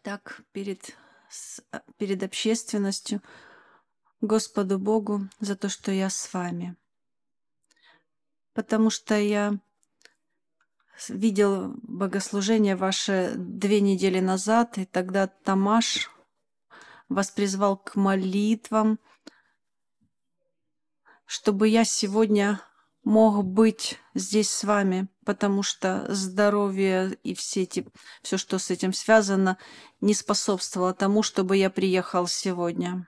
так перед общественностью Господу Богу за то, что я с вами. Потому что я видел богослужение ваше 2 недели назад, и тогда Тамаш вас призвал к молитвам, чтобы я сегодня мог быть здесь с вами, потому что здоровье и все, что с этим связано, не способствовало тому, чтобы я приехал сегодня.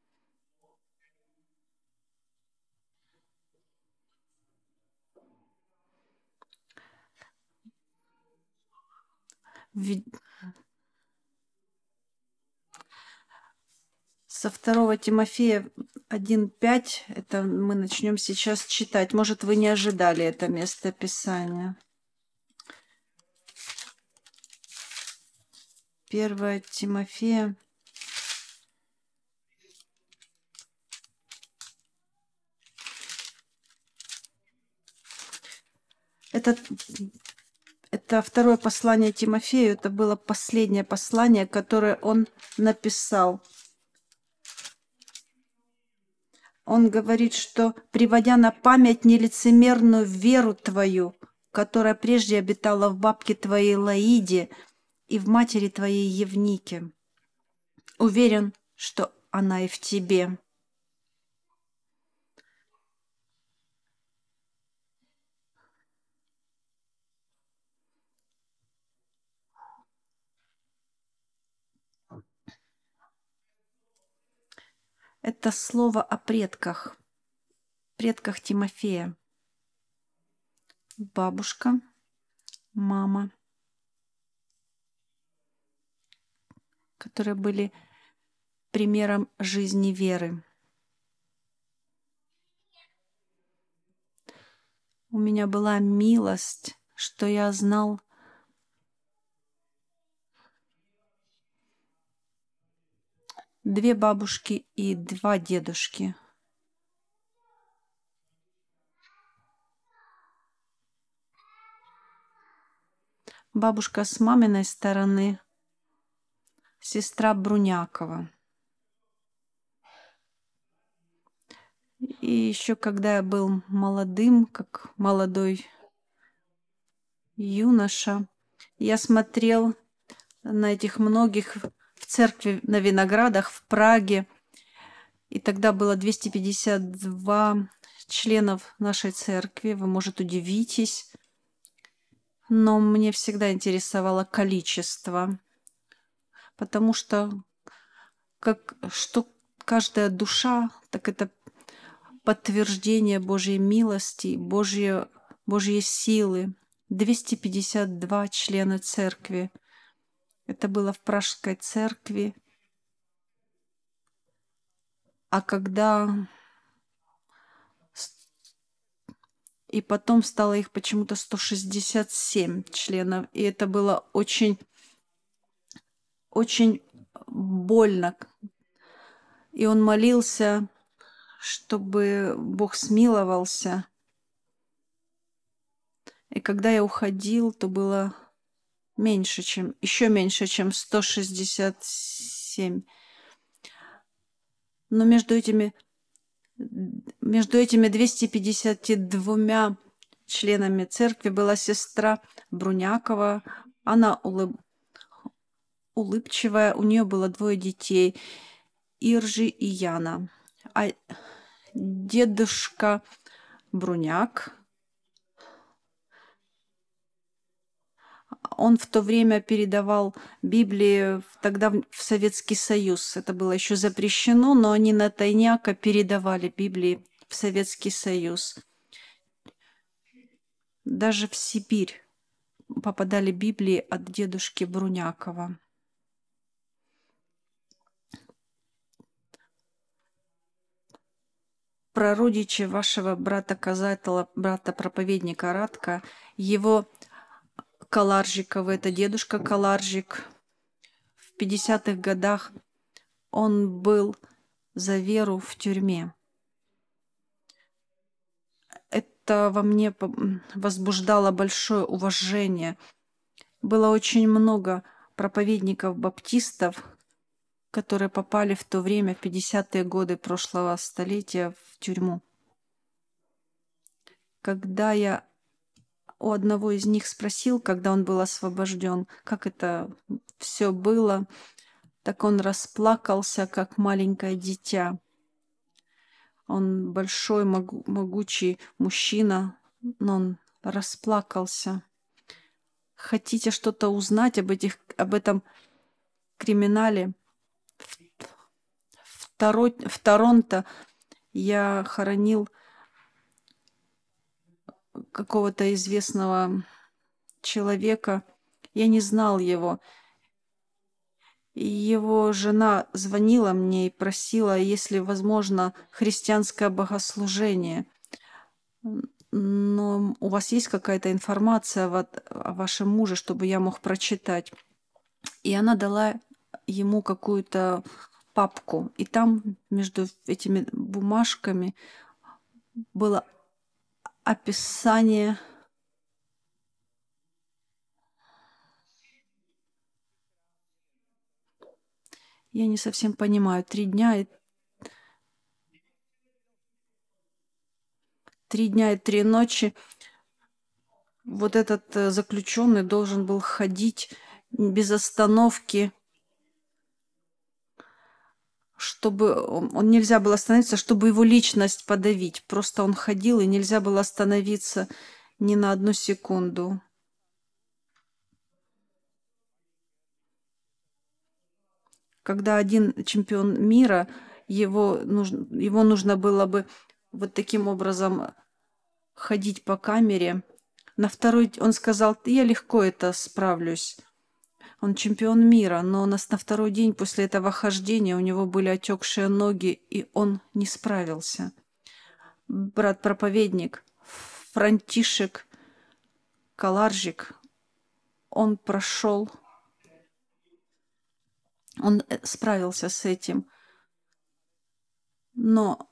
Со 2 Тимофея 1:5, это мы начнем сейчас читать. Может, вы не ожидали это место Писания. 1 Тимофея. Это второе послание Тимофею. Это было последнее послание, которое он написал. Он говорит, что, приводя на память нелицемерную веру твою, которая прежде обитала в бабке твоей Лаиде и в матери твоей Евнике, уверен, что она и в тебе. Это слово о предках Тимофея. Бабушка, мама, которые были примером жизни веры. У меня была милость, что я знал две бабушки и два дедушки. Бабушка с маминой стороны, сестра Брунякова. И еще когда я был молодым, как молодой юноша, я смотрел на этих многих в церкви на Виноградах в Праге. И тогда было 252 членов нашей церкви. Вы, может, удивитесь. Но мне всегда интересовало количество. Потому что что каждая душа, так это подтверждение Божьей милости, Божьей силы. 252 члена церкви. Это было в Пражской церкви. А когда... И потом стало их почему-то 167 членов. И это было очень, очень больно. И он молился, чтобы Бог смиловался. И когда я уходил, то было еще меньше, чем 167. Но между этими 252 членами церкви была сестра Брунякова. Она улыбчивая, у нее было 2 детей, Иржи и Яна. А дедушка Бруняк, он в то время передавал Библии тогда в Советский Союз. Это было еще запрещено, но они на тайняка передавали Библии в Советский Союз. Даже в Сибирь попадали Библии от дедушки Брунякова. Прародичи вашего брата Казателя, брата-проповедника Радка, его Каларжикова, это дедушка Каларжик. В 50-х годах он был за веру в тюрьме. Это во мне возбуждало большое уважение. Было очень много проповедников-баптистов, которые попали в то время, в 50-е годы прошлого столетия, в тюрьму. Когда я у одного из них спросил, когда он был освобожден, как это все было, так он расплакался, как маленькое дитя. Он большой, могучий мужчина, но он расплакался. Хотите что-то узнать об этом криминале? В Торонто я хоронил какого-то известного человека. Я не знал его. И его жена звонила мне и просила, если возможно, христианское богослужение. Но у вас есть какая-то информация о вашем муже, чтобы я мог прочитать? И она дала ему какую-то папку. И там между этими бумажками было описание. Я не совсем понимаю. 3 дня и 3 ночи вот этот заключенный должен был ходить без остановки, чтобы он нельзя было остановиться, чтобы его личность подавить. Просто он ходил, и нельзя было остановиться ни на одну секунду. Когда один чемпион мира, его нужно было бы вот таким образом ходить по камере. На второй он сказал, я легко это справлюсь. Он чемпион мира, но на второй день после этого хождения у него были отекшие ноги, и он не справился. Брат-проповедник Франтишек Каларжик, он справился с этим, но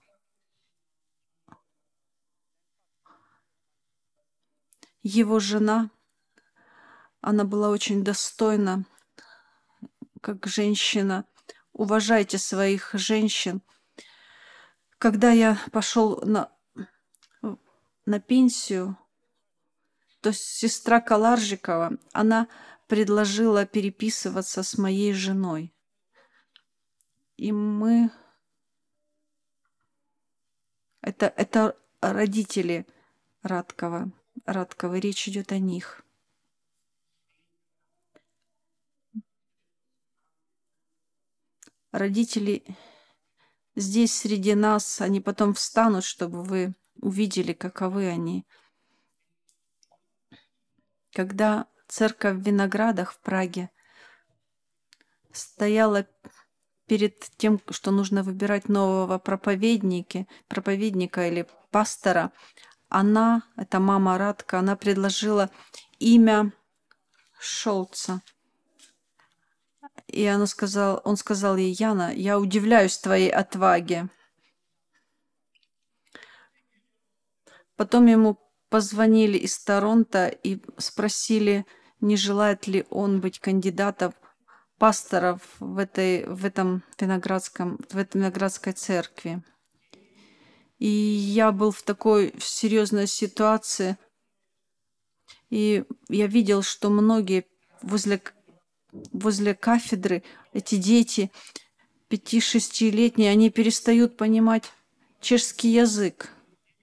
его жена, она была очень достойна, как женщина. Уважайте своих женщин. Когда я пошел на пенсию, то сестра Каларжикова, она предложила переписываться с моей женой. И мы... Это родители Радковой, речь идет о них. Родители здесь среди нас, они потом встанут, чтобы вы увидели, каковы они. Когда церковь в Виноградах в Праге стояла перед тем, что нужно выбирать нового проповедника или пастора, это мама Радка, она предложила имя Шолца. И он сказал ей, Яна, я удивляюсь твоей отваге. Потом ему позвонили из Торонто и спросили, не желает ли он быть кандидатом пасторов в этой Виноградской церкви. И я был в такой серьезной ситуации, и я видел, что многие возле кафедры, эти дети 5-6-летние, они перестают понимать чешский язык.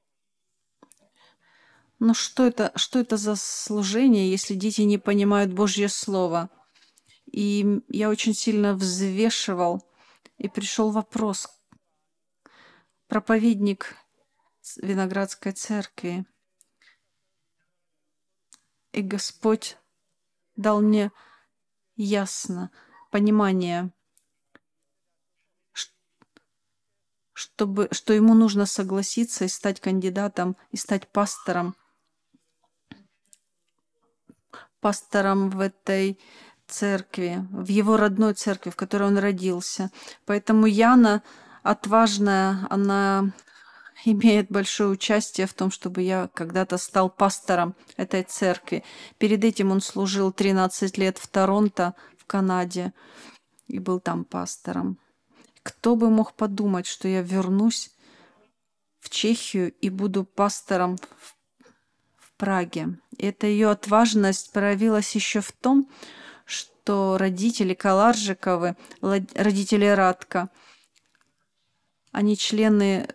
Ну что это за служение, если дети не понимают Божье Слово? И я очень сильно взвешивал, и пришел вопрос. Проповедник Виноградской церкви. И Господь дал мне понимание, что ему нужно согласиться и стать кандидатом, и стать пастором в этой церкви, в его родной церкви, в которой он родился. Поэтому Яна, отважная, она имеет большое участие в том, чтобы я когда-то стал пастором этой церкви. Перед этим он служил 13 лет в Торонто, в Канаде и был там пастором. Кто бы мог подумать, что я вернусь в Чехию и буду пастором в Праге. Эта ее отважность проявилась еще в том, что родители Каларжиковы, родители Радка, они члены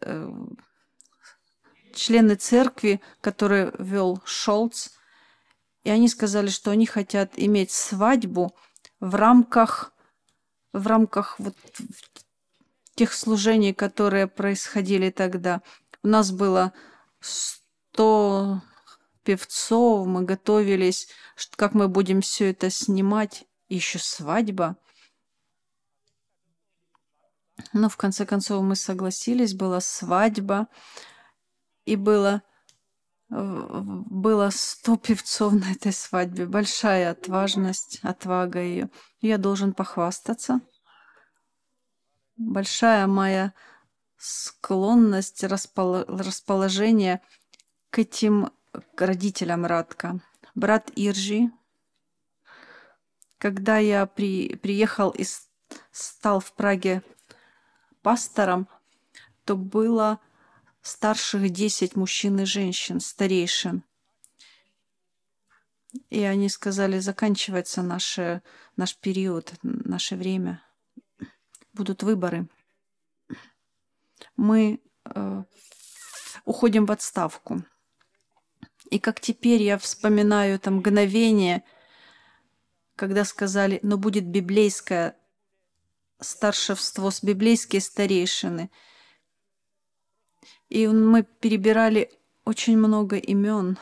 церкви, которую вел Шолц, и они сказали, что они хотят иметь свадьбу в рамках вот тех служений, которые происходили тогда. У нас было 100 певцов, мы готовились, как мы будем все это снимать, и еще свадьба. Но в конце концов мы согласились, была свадьба, и было 100 певцов на этой свадьбе. Большая отвага ее. Я должен похвастаться. Большая моя склонность, расположение к этим родителям Радка. Брат Иржи, когда я приехал и стал в Праге пастором, то было старших 10 мужчин и женщин, старейшин. И они сказали, заканчивается наш период, наше время. Будут выборы. Мы уходим в отставку. И как теперь я вспоминаю это мгновение, когда сказали, но будет библейское старшевство, с библейские старейшины. И мы перебирали очень много имен.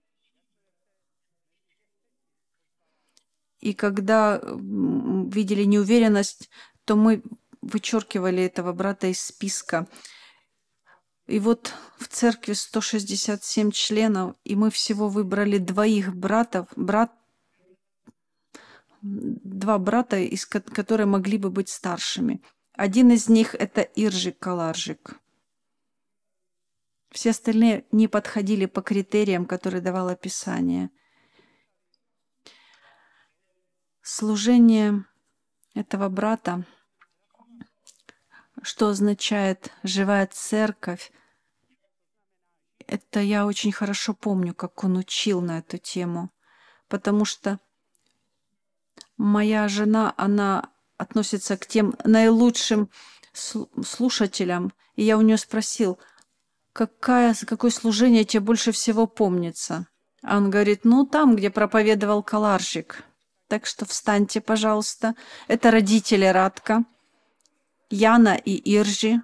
И когда видели неуверенность, то мы вычеркивали этого брата из списка. И вот в церкви 167 членов, и мы всего выбрали два брата, которые могли бы быть старшими. Один из них — это Иржик Каларжик. Все остальные не подходили по критериям, которые давало Писание. Служение этого брата, что означает «живая церковь», это я очень хорошо помню, как он учил на эту тему, потому что моя жена, она относится к тем наилучшим слушателям, и я у нее спросил, какое служение тебе больше всего помнится? А он говорит, там, где проповедовал Каларжик. Так что встаньте, пожалуйста. Это родители Радка, Яна и Иржи.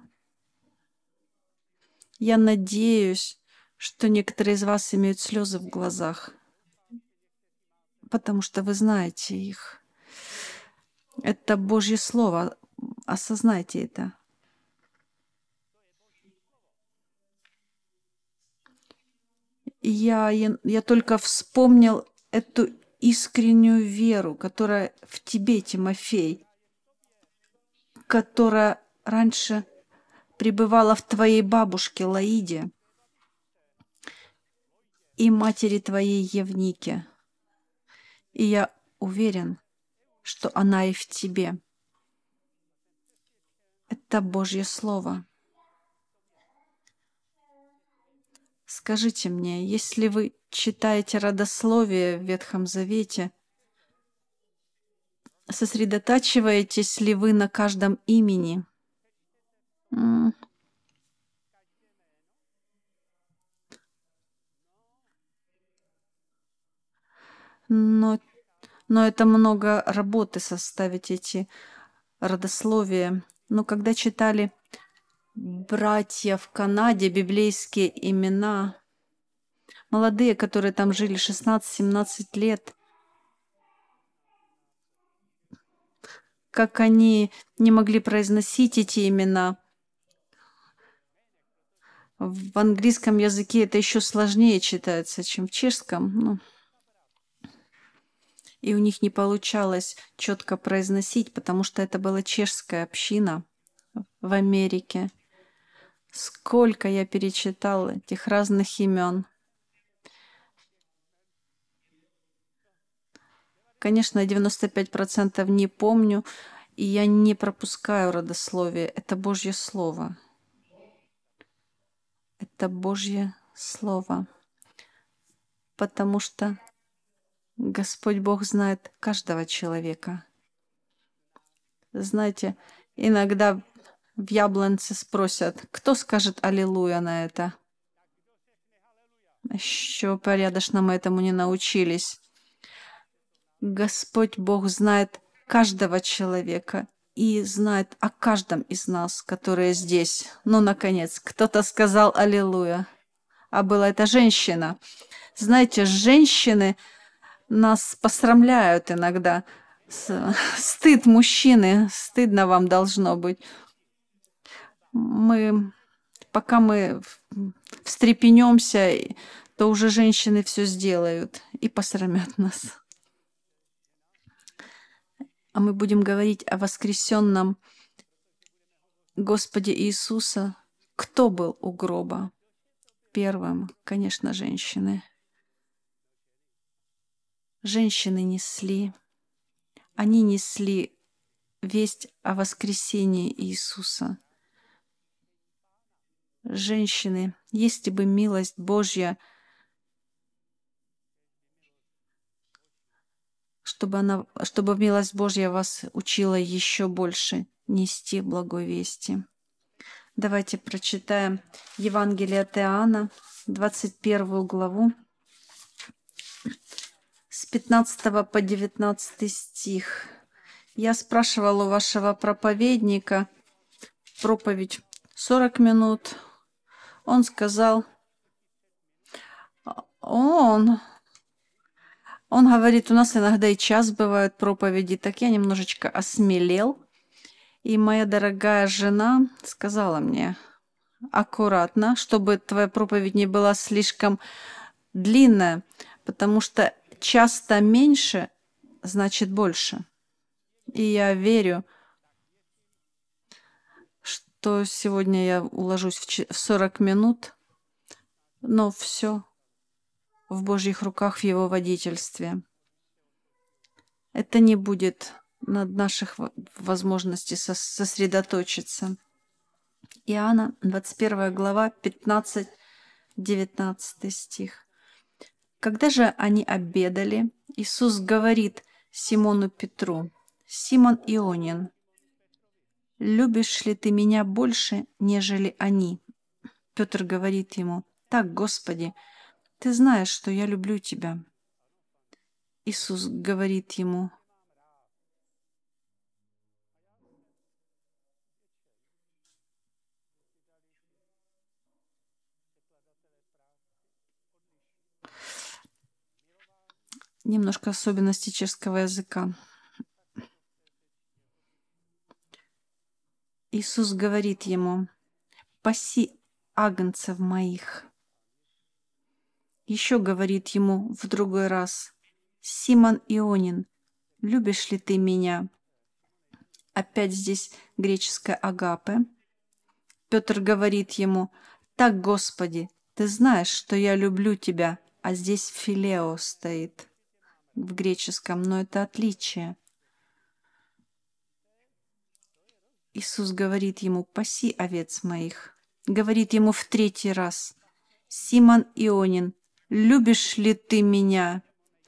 Я надеюсь, что некоторые из вас имеют слезы в глазах, потому что вы знаете их. Это Божье Слово. Осознайте это. Я только вспомнил эту искреннюю веру, которая в тебе, Тимофей, которая раньше пребывала в твоей бабушке Лаиде и матери твоей Евнике. И я уверен, что она и в тебе. Это Божье Слово. Скажите мне, если вы читаете родословие в Ветхом Завете, сосредотачиваетесь ли вы на каждом имени? Но это много работы составить эти родословия. Но когда читали братья в Канаде, библейские имена, молодые, которые там жили 16-17 лет, как они не могли произносить эти имена. В английском языке это еще сложнее читается, чем в чешском. И у них не получалось четко произносить, потому что это была чешская община в Америке. Сколько я перечитала этих разных имен. Конечно, я 95% не помню, и я не пропускаю родословие. Это Божье Слово. Это Божье Слово. Потому что Господь Бог знает каждого человека. Знаете, иногда в Яблонце спросят, кто скажет «Аллилуйя» на это? Еще порядочно мы этому не научились. Господь Бог знает каждого человека и знает о каждом из нас, которые здесь. Ну, наконец, кто-то сказал «Аллилуйя», а была это женщина. Знаете, женщины нас посрамляют иногда. Стыд мужчины, стыдно вам должно быть. Пока мы встрепенемся, то уже женщины все сделают и посрамят нас. А мы будем говорить о воскресенном Господе Иисуса. Кто был у гроба? Первым, конечно, женщины. Женщины несли. Они несли весть о воскресении Иисуса. Женщины, если бы милость Божья, чтобы милость Божья вас учила еще больше нести благой вести. Давайте прочитаем Евангелие от Иоанна, 21 главу, с 15 по 19 стих. Я спрашивала у вашего проповедника проповедь 40 минут. Он сказал, он говорит, у нас иногда и час бывают проповеди. Так я немножечко осмелел. И моя дорогая жена сказала мне, аккуратно, чтобы твоя проповедь не была слишком длинная, потому что часто меньше значит больше. И я верю, что сегодня я уложусь в 40 минут, но все в Божьих руках, в Его водительстве. Это не будет над наших возможностей сосредоточиться. Иоанна, 21 глава, 15-19 стих. Когда же они обедали, Иисус говорит Симону Петру: «Симон Ионин, любишь ли ты меня больше, нежели они?» Петр говорит ему: «Так, Господи, ты знаешь, что я люблю тебя». Иисус говорит ему: немножко особенности чешского языка. Иисус говорит ему: «Паси агнцев моих». Еще говорит ему в другой раз: «Симон Ионин, любишь ли ты меня?» Опять здесь греческое агапе. Петр говорит ему: «Так, Господи, ты знаешь, что я люблю тебя», а здесь филео стоит в греческом, но это отличие. Иисус говорит ему: «Паси овец моих». Говорит ему в третий раз: «Симон Ионин, любишь ли ты меня?»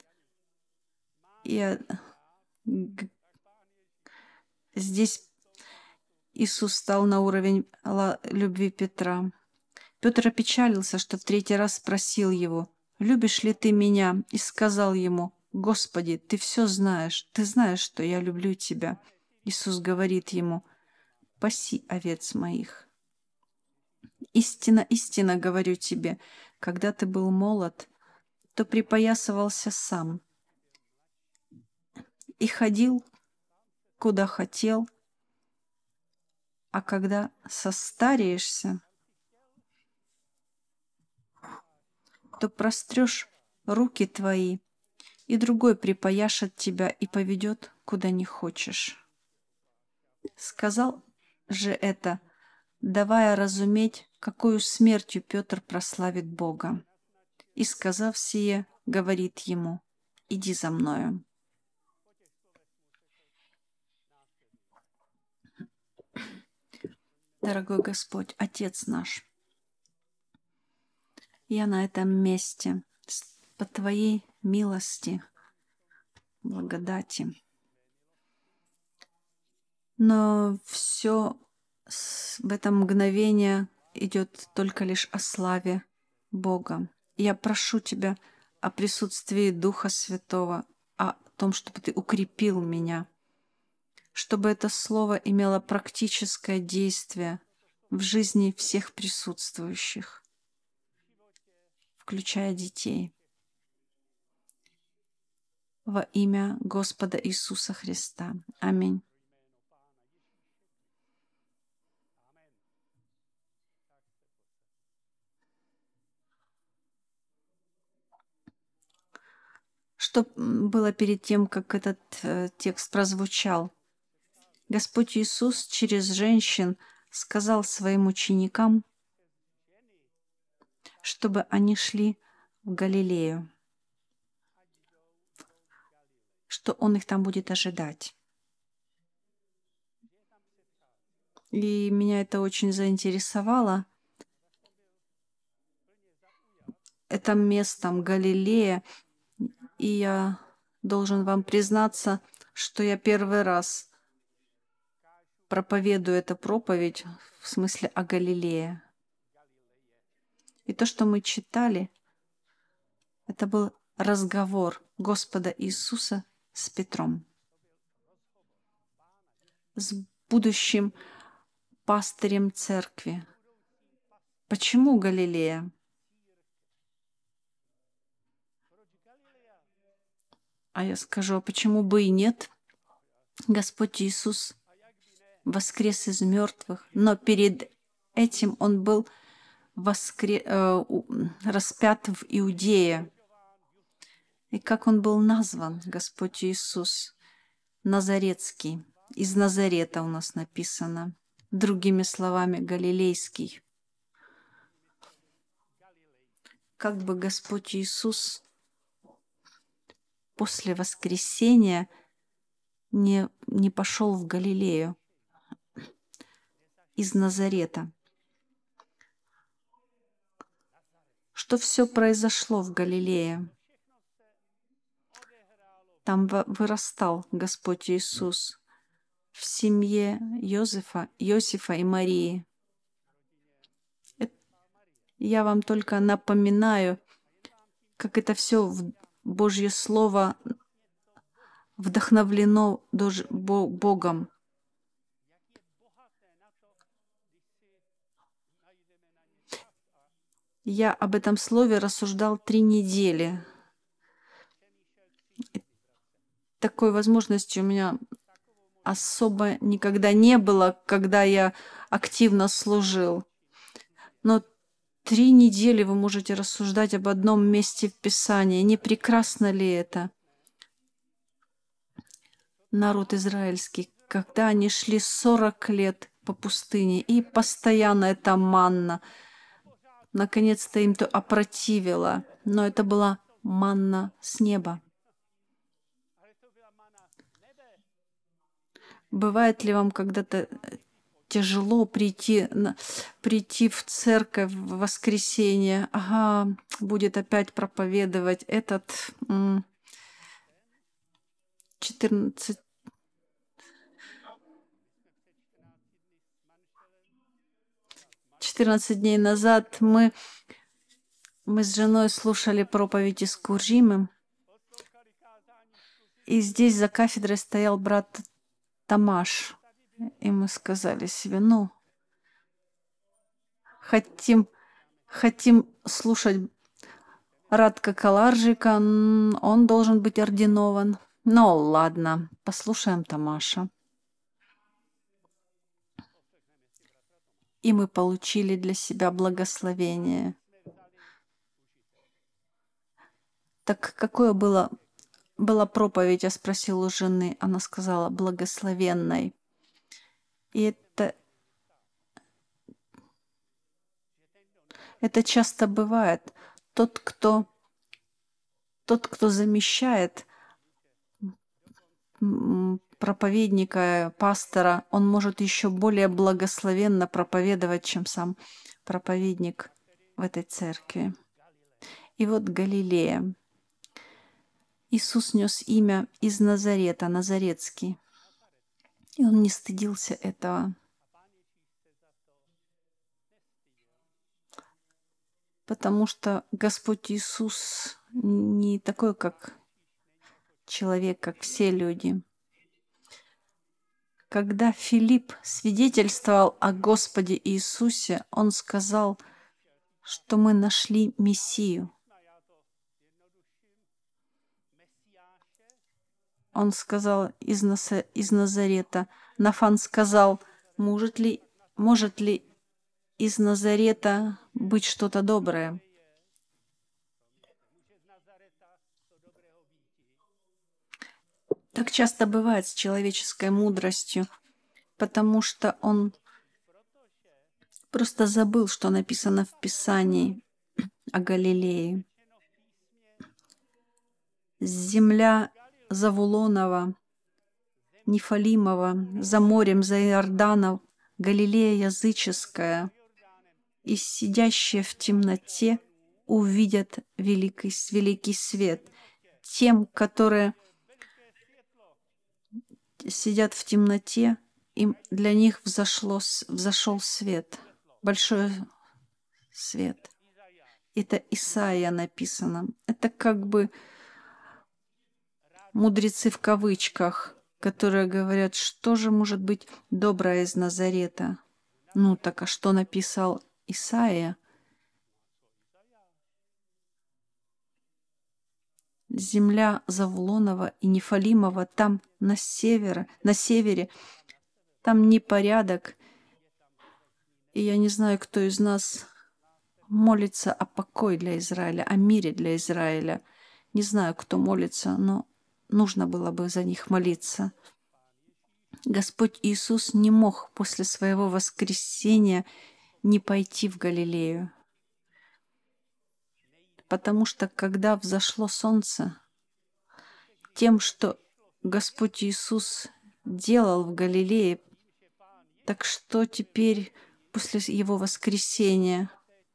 Здесь Иисус стал на уровень любви Петра. Петр опечалился, что в третий раз спросил его: «Любишь ли ты меня?» И сказал ему: «Господи, ты все знаешь, ты знаешь, что я люблю тебя». Иисус говорит ему: «Паси овец моих». Истинно, истинно говорю тебе, когда ты был молод, то припоясывался сам и ходил, куда хотел, а когда состареешься, то прострешь руки твои, и другой припояшет тебя и поведет, куда не хочешь. Сказал же это, давая разуметь, какою смертью Петр прославит Бога. И, сказав сие, говорит ему: «Иди за мною». Дорогой Господь, Отец наш, я на этом месте по Твоей милости, благодати. Но все в это мгновение идет только лишь о славе Бога. Я прошу Тебя о присутствии Духа Святого, о том, чтобы Ты укрепил меня, чтобы это слово имело практическое действие в жизни всех присутствующих, включая детей. Во имя Господа Иисуса Христа. Аминь. Что было перед тем, как этот текст прозвучал? Господь Иисус через женщин сказал своим ученикам, чтобы они шли в Галилею, что Он их там будет ожидать. И меня это очень заинтересовало. Это местом Галилея. И я должен вам признаться, что я первый раз проповедую эту проповедь в смысле о Галилее. И то, что мы читали, это был разговор Господа Иисуса с Петром, с будущим пастырем церкви. Почему Галилея? А я скажу, а почему бы и нет? Господь Иисус воскрес из мертвых, но перед этим Он был распят в Иудее. И как Он был назван, Господь Иисус? Назаретский. Из Назарета у нас написано. Другими словами, Галилейский. Как бы Господь Иисус после воскресения не пошел в Галилею из Назарета. Что все произошло в Галилее? Там вырастал Господь Иисус в семье Иосифа и Марии. Я вам только напоминаю, как это все Божье Слово вдохновлено Богом. Я об этом слове рассуждал 3 недели. Такой возможности у меня особо никогда не было, когда я активно служил. Но 3 недели вы можете рассуждать об одном месте в Писании. Не прекрасно ли это? Народ израильский, когда они шли 40 лет по пустыне, и постоянно эта манна, наконец-то им то опротивило, но это была манна с неба. Бывает ли вам когда-то тяжело прийти в церковь в воскресенье? Ага, будет опять проповедовать этот 14 дней назад мы с женой слушали проповедь из Куржимы, и здесь за кафедрой стоял брат Тамаш. И мы сказали себе, хотим слушать Радка Каларжика, он должен быть ординован. Ну, ладно, послушаем Тамаша. И мы получили для себя благословение. Так какое была проповедь, я спросила у жены. Она сказала, благословенной. И это часто бывает. Тот, кто замещает проповедника, пастора, он может еще более благословенно проповедовать, чем сам проповедник в этой церкви. И вот Галилея. Иисус нес имя из Назарета, Назаретский. И он не стыдился этого. Потому что Господь Иисус не такой, как человек, как все люди. Когда Филипп свидетельствовал о Господе Иисусе, он сказал, что мы нашли Мессию. Он сказал из Назарета. Нафан сказал, может ли из Назарета быть что-то доброе? Так часто бывает с человеческой мудростью, потому что он просто забыл, что написано в Писании о Галилее. Земля Завулонова, Нефалимова, за морем, за Иорданом, Галилея языческая, и сидящие в темноте увидят великий свет. Тем, которые сидят в темноте, для них взошел свет, большой свет. Это Исаия написано. Это как бы мудрецы в кавычках, которые говорят, что же может быть доброе из Назарета. Ну так, а что написал Исаия? Земля Завулонова и Нефалимова, там на севере, там непорядок. И я не знаю, кто из нас молится о покое для Израиля, о мире для Израиля. Не знаю, кто молится, но нужно было бы за них молиться. Господь Иисус не мог после своего воскресения не пойти в Галилею. Потому что когда взошло солнце, тем, что Господь Иисус делал в Галилее, так что теперь после Его воскресения?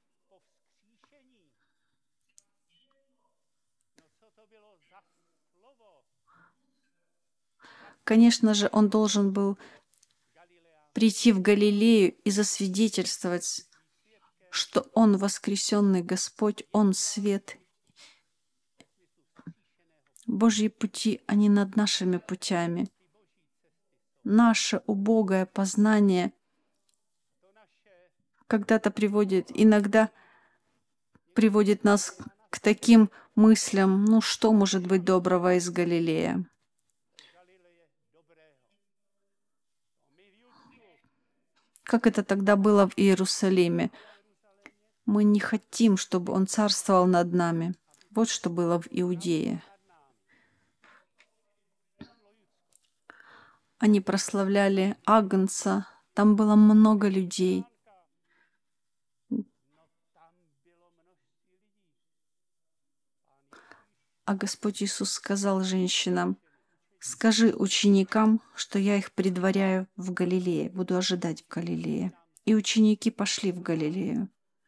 Конечно же, Он должен был прийти в Галилею и засвидетельствовать, что Он воскресенный Господь, Он свет. Божьи пути, они над нашими путями. Наше убогое познание иногда приводит нас к таким мыслям, ну что может быть доброго из Галилея? Как это тогда было в Иерусалиме? Мы не хотим, чтобы Он царствовал над нами. Вот что было в Иудее. Они прославляли Агнца. Там было много людей. А Господь Иисус сказал женщинам: «Скажи ученикам, что я их предваряю в Галилее, буду ожидать в Галилее». И ученики пошли в Галилею.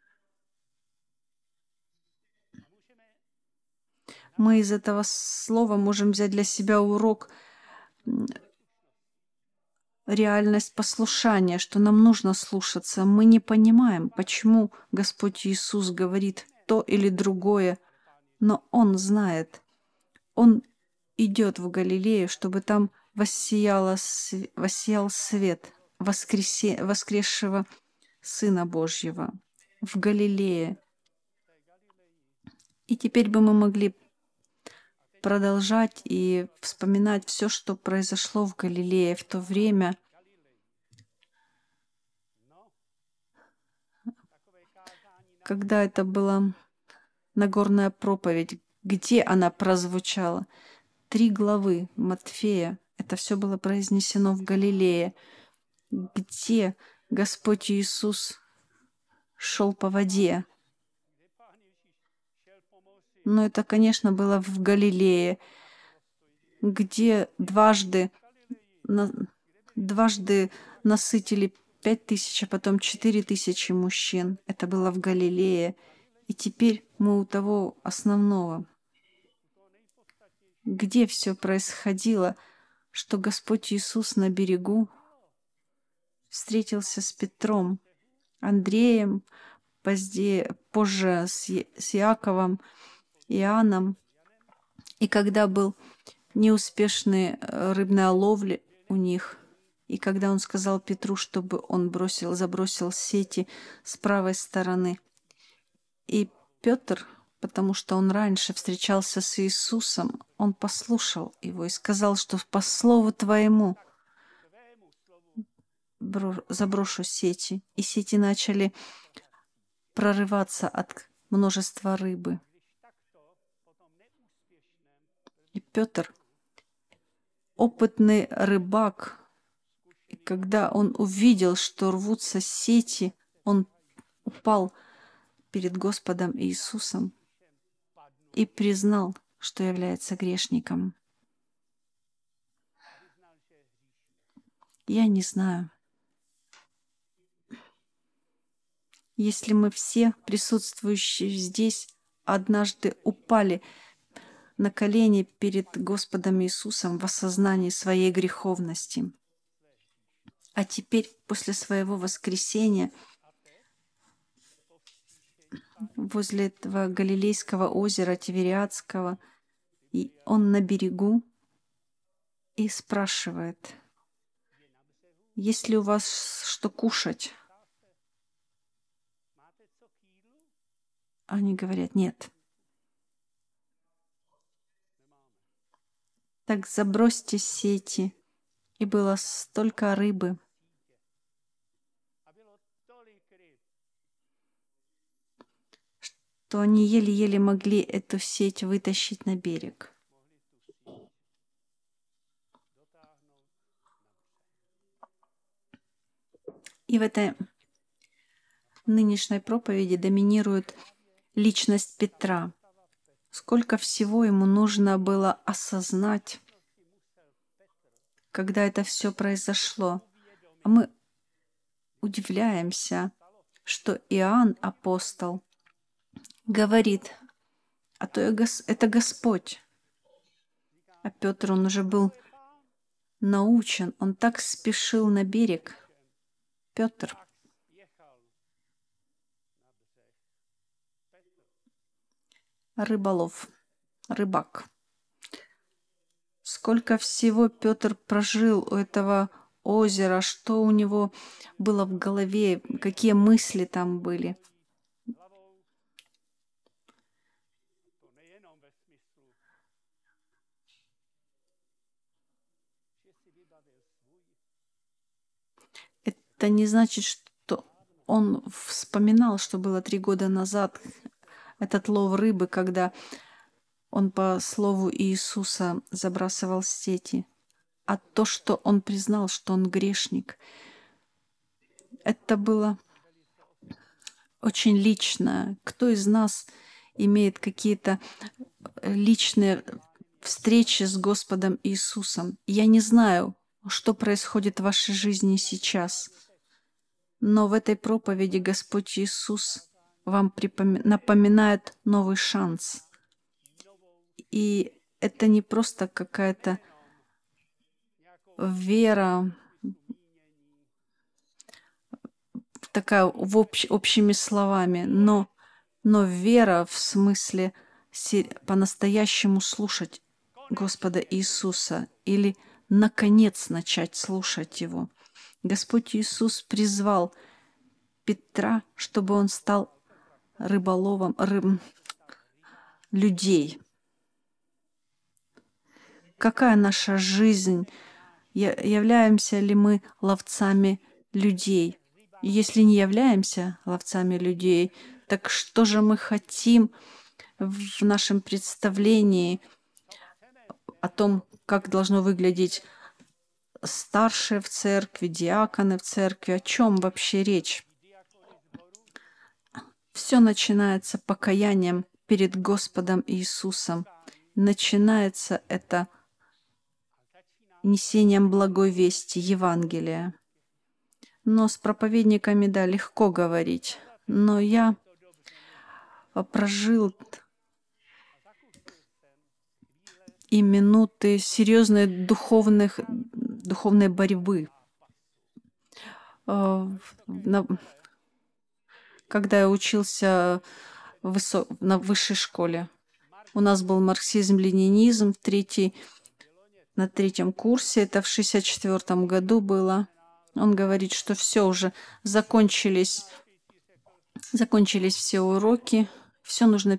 Мы из этого слова можем взять для себя урок, реальность послушания, что нам нужно слушаться. Мы не понимаем, почему Господь Иисус говорит то или другое, но Он знает. Он идет в Галилею, чтобы там воссиял свет воскресшего Сына Божьего в Галилее. И теперь бы мы могли продолжать и вспоминать все, что произошло в Галилее в то время. Когда это была Нагорная проповедь, где она прозвучала? 3 главы Матфея. Это все было произнесено в Галилее, где Господь Иисус шел по воде. Но это, конечно, было в Галилее, где дважды дважды насытили 5000, а потом 4000 мужчин. Это было в Галилее. И теперь мы у того основного. Где все происходило, что Господь Иисус на берегу встретился с Петром, Андреем, позже с Иаковом, Иоанном. И когда был неуспешный рыбная ловля у них, и когда он сказал Петру, чтобы он забросил сети с правой стороны, и Петр, потому что он раньше встречался с Иисусом, он послушал его и сказал, что по слову твоему заброшу сети. И сети начали прорываться от множества рыбы. И Петр, опытный рыбак, и когда он увидел, что рвутся сети, он упал перед Господом Иисусом и признал, что является грешником. Я не знаю. Если мы все, присутствующие здесь, однажды упали на колени перед Господом Иисусом в осознании своей греховности, а теперь, после своего воскресения, возле этого Галилейского озера Тивериадского, и он на берегу и спрашивает: есть ли у вас что кушать? Они говорят: нет. Так забросьте сети. И было столько рыбы. Что они еле-еле могли эту сеть вытащить на берег. И в этой нынешней проповеди доминирует личность Петра. Сколько всего ему нужно было осознать, когда это все произошло. А мы удивляемся, что Иоанн, апостол, говорит: а то это Господь. А Петр, он уже был научен, он так спешил на берег. Петр. Рыболов, рыбак. Сколько всего Петр прожил у этого озера, что у него было в голове, какие мысли там были. Это не значит, что он вспоминал, что было 3 года назад, этот лов рыбы, когда он по слову Иисуса забрасывал сети. А то, что он признал, что он грешник, это было очень личное. Кто из нас имеет какие-то личные встречи с Господом Иисусом? Я не знаю, что происходит в вашей жизни сейчас, но в этой проповеди Господь Иисус вам напоминает новый шанс. И это не просто какая-то вера, такая общими словами, но вера в смысле по-настоящему слушать Господа Иисуса или, наконец, начать слушать Его. Господь Иисус призвал Петра, чтобы он стал рыболовом людей. Какая наша жизнь? Являемся ли мы ловцами людей? Если не являемся ловцами людей, так что же мы хотим в нашем представлении о том, как должно выглядеть старшие в церкви, диаконы в церкви? О чем вообще речь? Все начинается покаянием перед Господом Иисусом. Начинается это несением благой вести, Евангелия. Но с проповедниками, да, легко говорить. Но я прожил и минуты серьезной духовной борьбы. Когда я учился на высшей школе. У нас был марксизм-ленинизм на третьем курсе. Это в 1964 году было. Он говорит, что все уже закончились все уроки, все нужно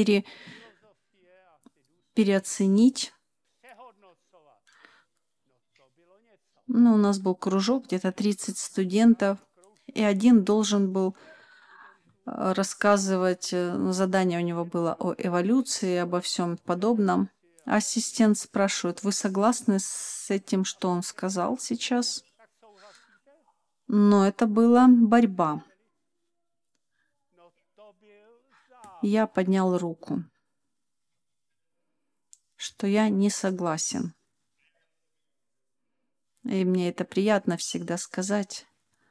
переоценить. Ну, у нас был кружок, где-то 30 студентов, и один должен был рассказывать, задание у него было о эволюции, обо всем подобном. Ассистент спрашивает, вы согласны с этим, что он сказал сейчас? Но это была борьба. Я поднял руку, что я не согласен. И мне это приятно всегда сказать.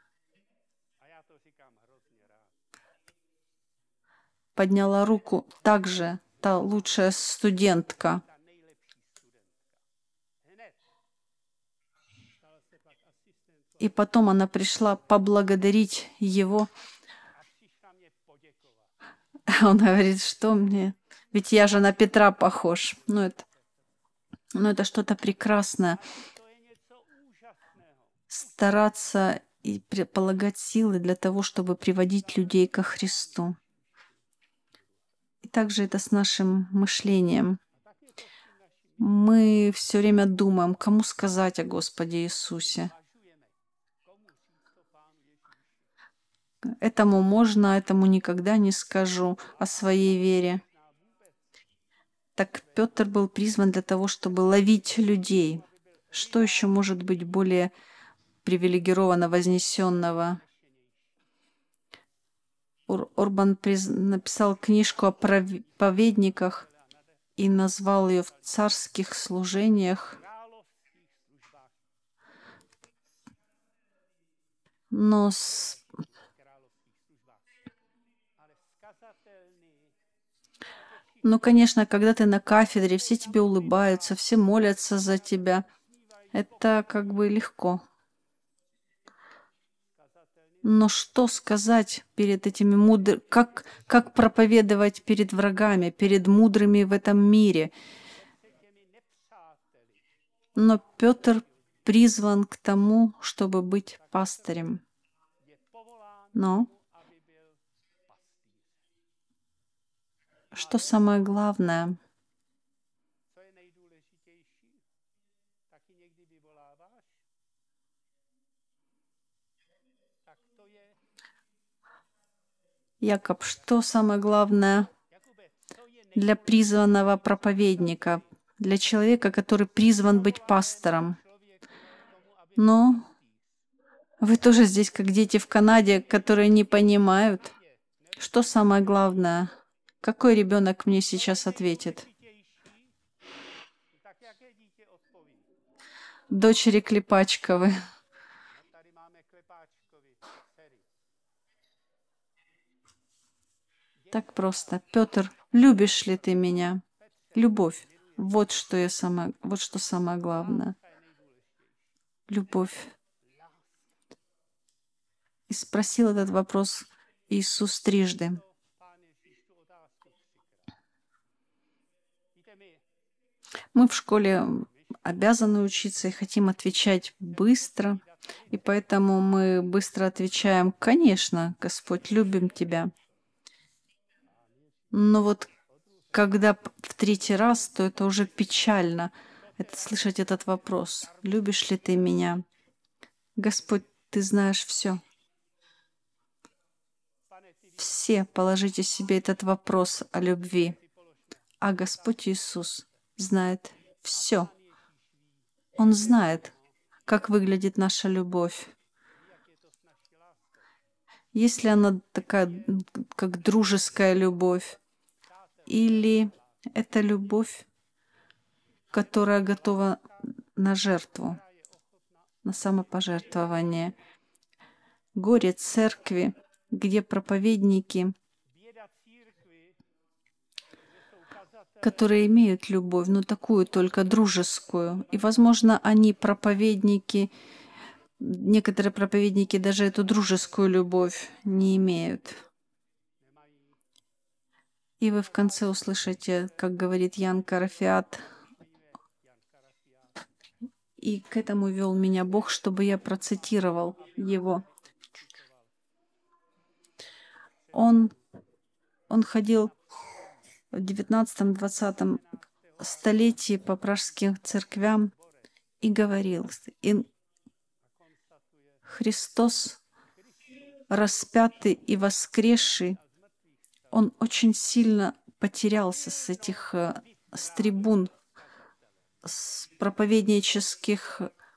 Подняла руку также та лучшая студентка. И потом она пришла поблагодарить его. Он говорит, что мне... Ведь я же на Петра похож. Ну, это что-то прекрасное. Стараться и полагать силы для того, чтобы приводить людей ко Христу. И также это с нашим мышлением. Мы все время думаем, кому сказать о Господе Иисусе. Этому можно, этому никогда не скажу о своей вере. Так Петр был призван для того, чтобы ловить людей. Что еще может быть более привилегированно вознесенного? Орбан написал книжку о проповедниках и назвал ее «В царских служениях». Но конечно, когда ты на кафедре, все тебе улыбаются, все молятся за тебя. Это как бы легко. Но что сказать перед этими мудрыми, как проповедовать перед врагами, перед мудрыми в этом мире? Но Петр призван к тому, чтобы быть пастырем. Но что самое главное? Якоб, что самое главное для призванного проповедника, для человека, который призван быть пастором? Но вы тоже здесь, как дети в Канаде, которые не понимают, что самое главное. Какой ребенок мне сейчас ответит? Дочери Клепачковы. Так просто. Петр, любишь ли ты меня? Любовь. Вот что самое главное. Любовь. И спросил этот вопрос Иисус трижды. Мы в школе обязаны учиться и хотим отвечать быстро, и поэтому мы быстро отвечаем: «Конечно, Господь, любим Тебя». Но вот когда в третий раз, то это уже печально слышать этот вопрос: «Любишь ли ты меня?» Господь, ты знаешь все. Все положите себе этот вопрос о любви. А Господь Иисус знает все. Он знает, как выглядит наша любовь. Если она такая, как дружеская любовь, или это любовь, которая готова на жертву, на самопожертвование. Горе церкви, где проповедники, которые имеют любовь, но такую только дружескую. И, возможно, они проповедники, некоторые проповедники даже эту дружескую любовь не имеют. И вы в конце услышите, как говорит Ян Карафиат, и к этому вел меня Бог, чтобы я процитировал его. Он ходил в 19-20 столетии по пражским церквям и говорил, и Христос, распятый и воскресший, он очень сильно потерялся с этих с трибун, с проповеднических.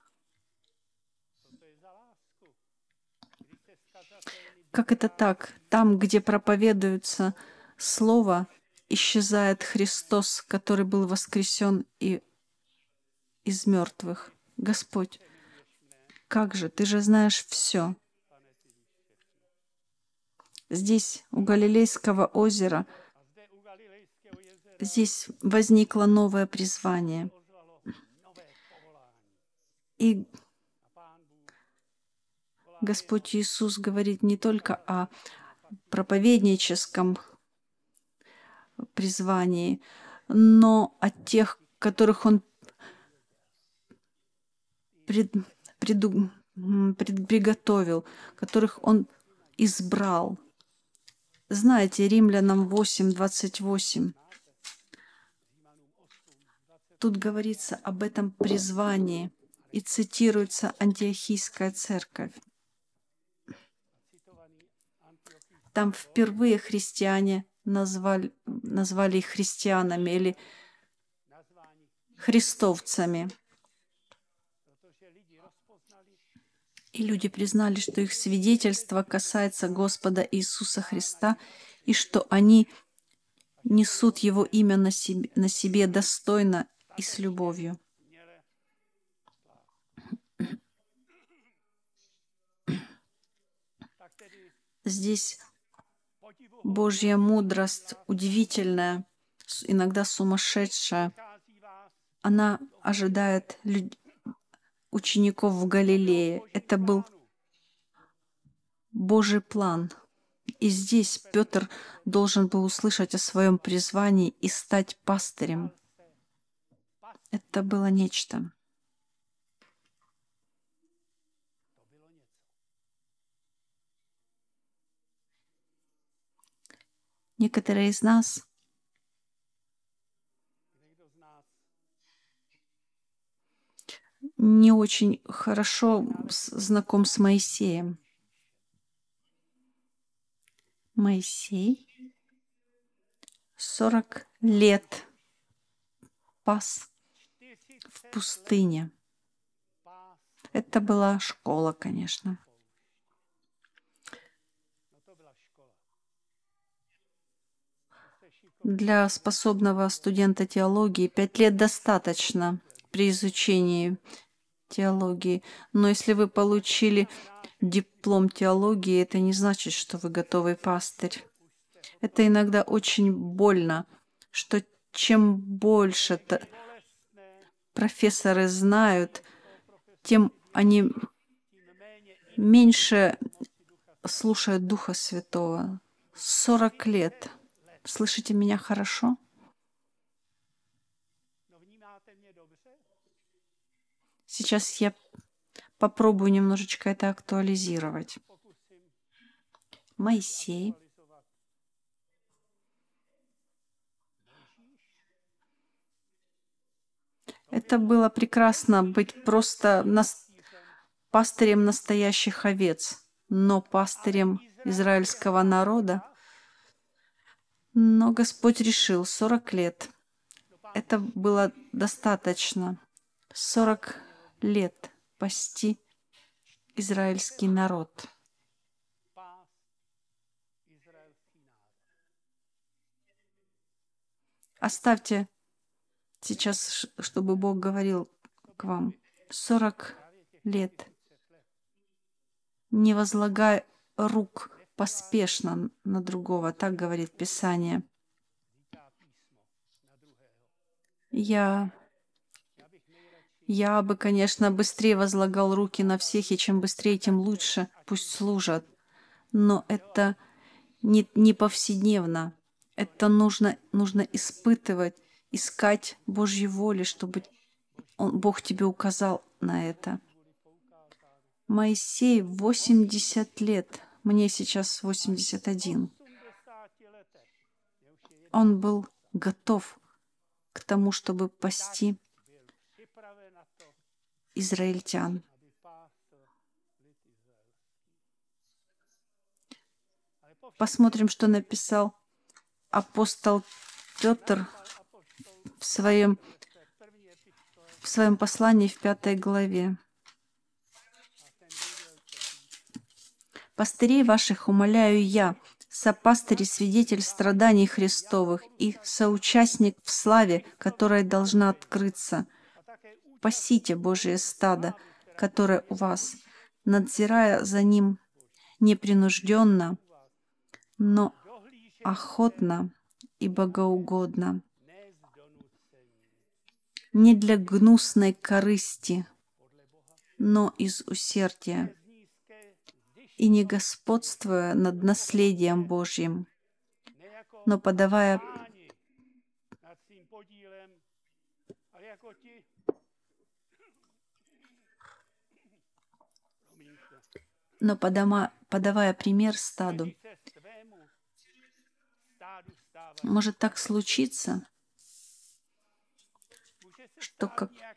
Как это так? Там, где проповедуется Слово, исчезает Христос, который был воскресен и из мертвых. Господь, как же? Ты же знаешь все. Здесь, у Галилейского озера, здесь возникло новое призвание. И Господь Иисус говорит не только о проповедническом призвании, но о тех, которых Он приготовил, которых Он избрал. Знаете, Римлянам 8:28. Тут говорится об этом призвании и цитируется Антиохийская церковь. Там впервые христиане назвали их христианами или христовцами. И люди признали, что их свидетельство касается Господа Иисуса Христа, и что они несут Его имя на себе достойно и с любовью. Здесь Божья мудрость удивительная, иногда сумасшедшая. Она ожидает учеников в Галилее. Это был Божий план. И здесь Петр должен был услышать о своем призвании и стать пастырем. Это было нечто. Некоторые из нас не очень хорошо знаком с Моисеем. Моисей 40 лет пас в пустыне. Это была школа, конечно. Для способного студента теологии 5 лет достаточно при изучении теологии. Но если вы получили диплом теологии, это не значит, что вы готовый пастырь. Это иногда очень больно, что чем больше профессоры знают, тем они меньше слушают Духа Святого. 40 лет. Слышите меня хорошо? Сейчас я попробую немножечко это актуализировать. Моисей. Это было прекрасно быть просто пастырем настоящих овец, но пастырем израильского народа. Но Господь решил 40 лет. Это было достаточно. 40 лет пасти израильский народ. Оставьте сейчас, чтобы Бог говорил к вам. 40 лет. Не возлагай рук поспешно на другого, так говорит Писание. Я бы, конечно, быстрее возлагал руки на всех, и чем быстрее, тем лучше. Пусть служат. Но это не повседневно. Это нужно испытывать, искать Божьей воли, чтобы Бог тебе указал на это. Моисей 80 лет, мне сейчас 81. Он был готов к тому, чтобы пасти израильтян. Посмотрим, что написал апостол Петр в своем послании в 5 главе. «Пастырей ваших умоляю я, сопастырь и свидетель страданий Христовых и соучастник в славе, которая должна открыться. Пасите Божие стадо, которое у вас, надзирая за ним непринужденно, но охотно и богоугодно, не для гнусной корысти, но из усердия, и не господствуя над наследием Божьим, но подавая пример стаду». Может так случиться, что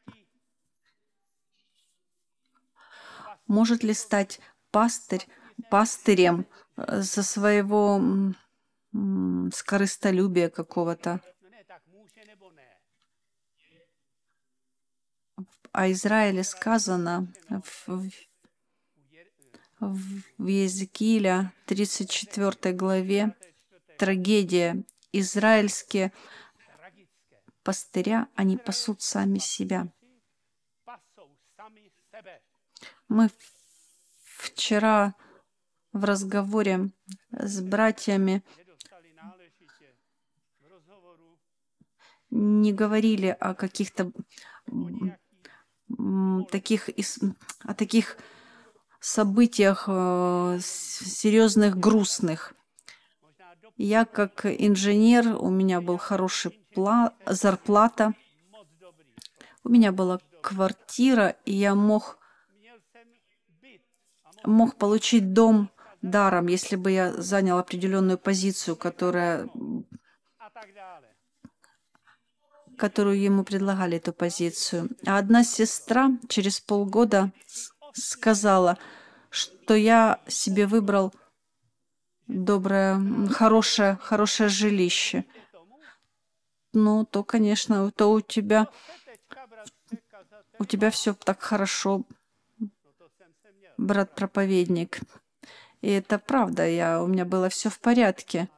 может ли стать пастырем со своего скорыстолюбия какого-то? О Израиле сказано в Иезекииля 34 главе, трагедия. Израильские пастыря, они пасут сами себя. Мы вчера в разговоре с братьями не говорили о каких-то таких событиях серьезных, грустных. Я как инженер, у меня была хорошая зарплата, у меня была квартира, и я мог получить дом даром, если бы я занял определенную позицию, которую ему предлагали, эту позицию. А одна сестра через полгода сказала, что я себе выбрал доброе, хорошее жилище. Ну, то, конечно, то у тебя все так хорошо, брат-проповедник. И это правда, у меня было все в порядке.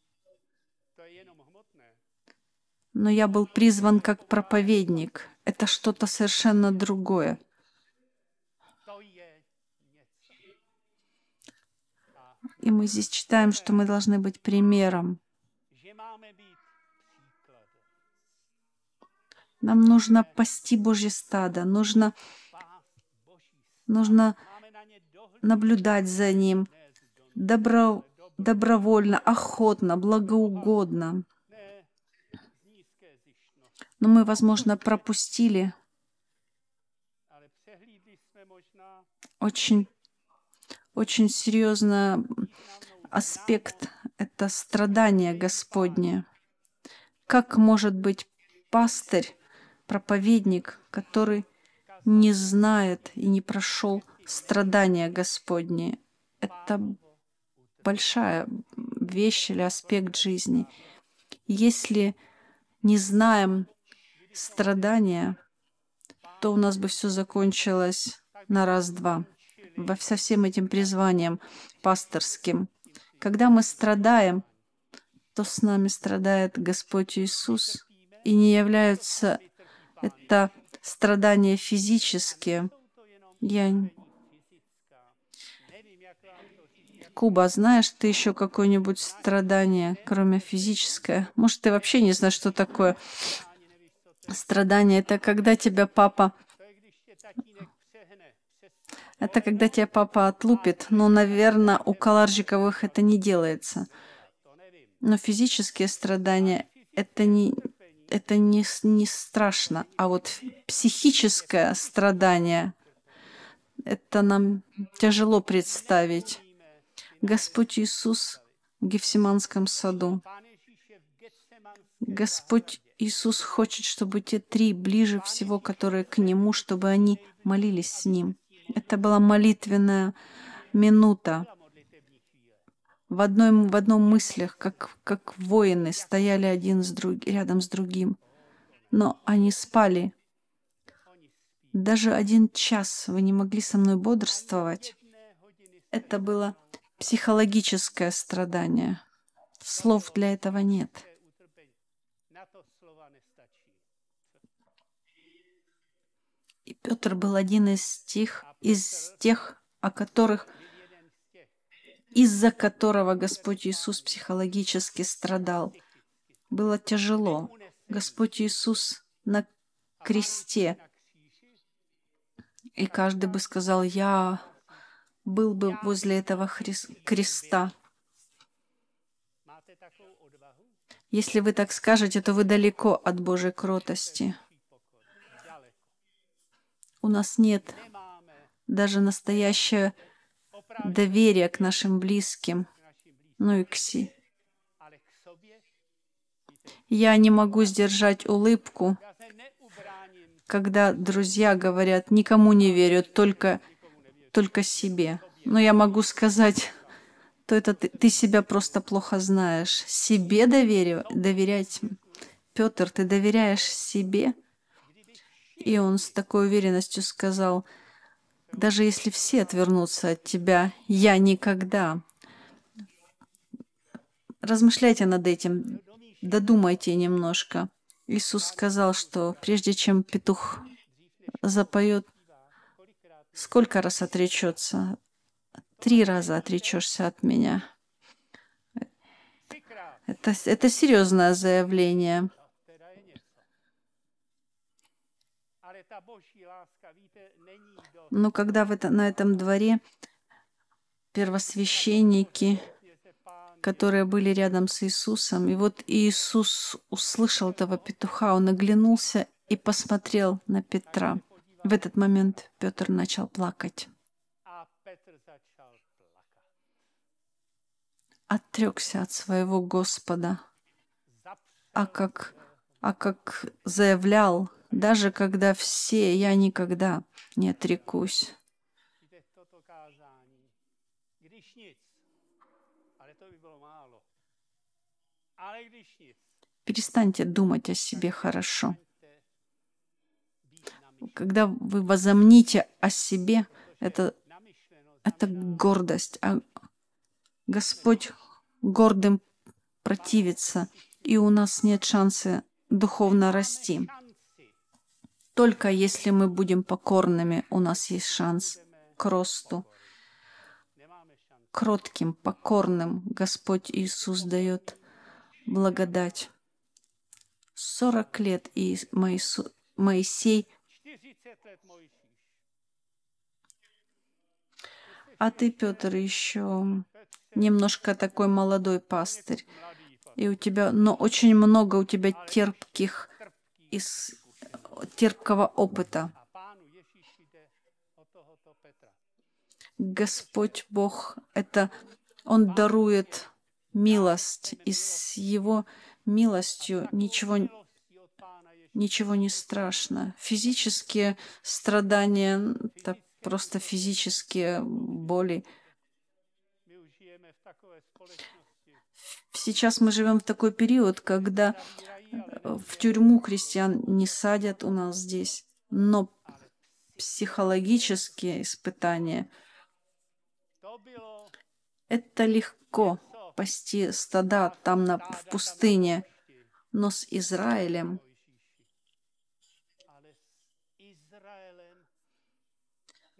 Но я был призван как проповедник. Это что-то совершенно другое. И мы здесь читаем, что мы должны быть примером. Нам нужно пасти Божье стадо, нужно наблюдать за ним добровольно, охотно, благоугодно. Но мы, возможно, пропустили очень серьезный аспект — это страдание Господне. Как может быть пастырь, проповедник, который не знает и не прошел страдания Господни? Это большая вещь или аспект жизни. Если не знаем страдания, то у нас бы все закончилось на раз-два со всем этим призванием пасторским. Когда мы страдаем, то с нами страдает Господь Иисус, и не является это страдания физические. Куба, знаешь ты еще какое-нибудь страдание, кроме физическое? Может, ты вообще не знаешь, что такое страдание? Это когда тебя папа отлупит. Ну, наверное, у Каларжиковых это не делается. Но физические страдания это не страшно. А вот психическое страдание, это нам тяжело представить. Господь Иисус в Гефсиманском саду. Господь Иисус хочет, чтобы те три ближе всего, которые к Нему, чтобы они молились с Ним. Это была молитвенная минута. В одном мыслях, как воины, стояли рядом с другим. Но они спали. Даже 1 час вы не могли со мной бодрствовать. Это было психологическое страдание. Слов для этого нет. И Петр был один из тех, из-за которого Господь Иисус психологически страдал. Было тяжело. Господь Иисус на кресте. И каждый бы сказал, я был бы возле этого креста. Если вы так скажете, то вы далеко от Божьей кротости. У нас нет даже настоящего доверия к нашим близким, ну и к себе. Я не могу сдержать улыбку, когда друзья говорят, никому не верю, только себе. Но я могу сказать, то это ты себя просто плохо знаешь. Себе доверять. Петр, ты доверяешь себе? И он с такой уверенностью сказал, даже если все отвернутся от тебя, я никогда. Размышляйте над этим, додумайте немножко. Иисус сказал, что прежде чем петух запоет, сколько раз отречется? 3 раза отречешься от меня. Это серьезное заявление. Но когда на этом дворе первосвященники, которые были рядом с Иисусом, и вот Иисус услышал этого петуха, он оглянулся и посмотрел на Петра. В этот момент Петр начал плакать. Отрекся от своего Господа. А как заявлял, даже когда все, я никогда не отрекусь. Перестаньте думать о себе хорошо. Когда вы возомните о себе, это гордость. А Господь гордым противится, и у нас нет шанса духовно расти. Только если мы будем покорными, у нас есть шанс к росту. Кротким, покорным Господь Иисус дает благодать. 40 лет и Моисей, а ты, Петр, еще немножко такой молодой пастырь. И но очень много у тебя терпкого опыта. Господь Бог, Он дарует милость, и с Его милостью ничего не страшно. Физические страдания — это просто физические боли. Сейчас мы живем в такой период, когда в тюрьму христиан не садят у нас здесь, но психологические испытания — это легко пасти стада там в пустыне, но с Израилем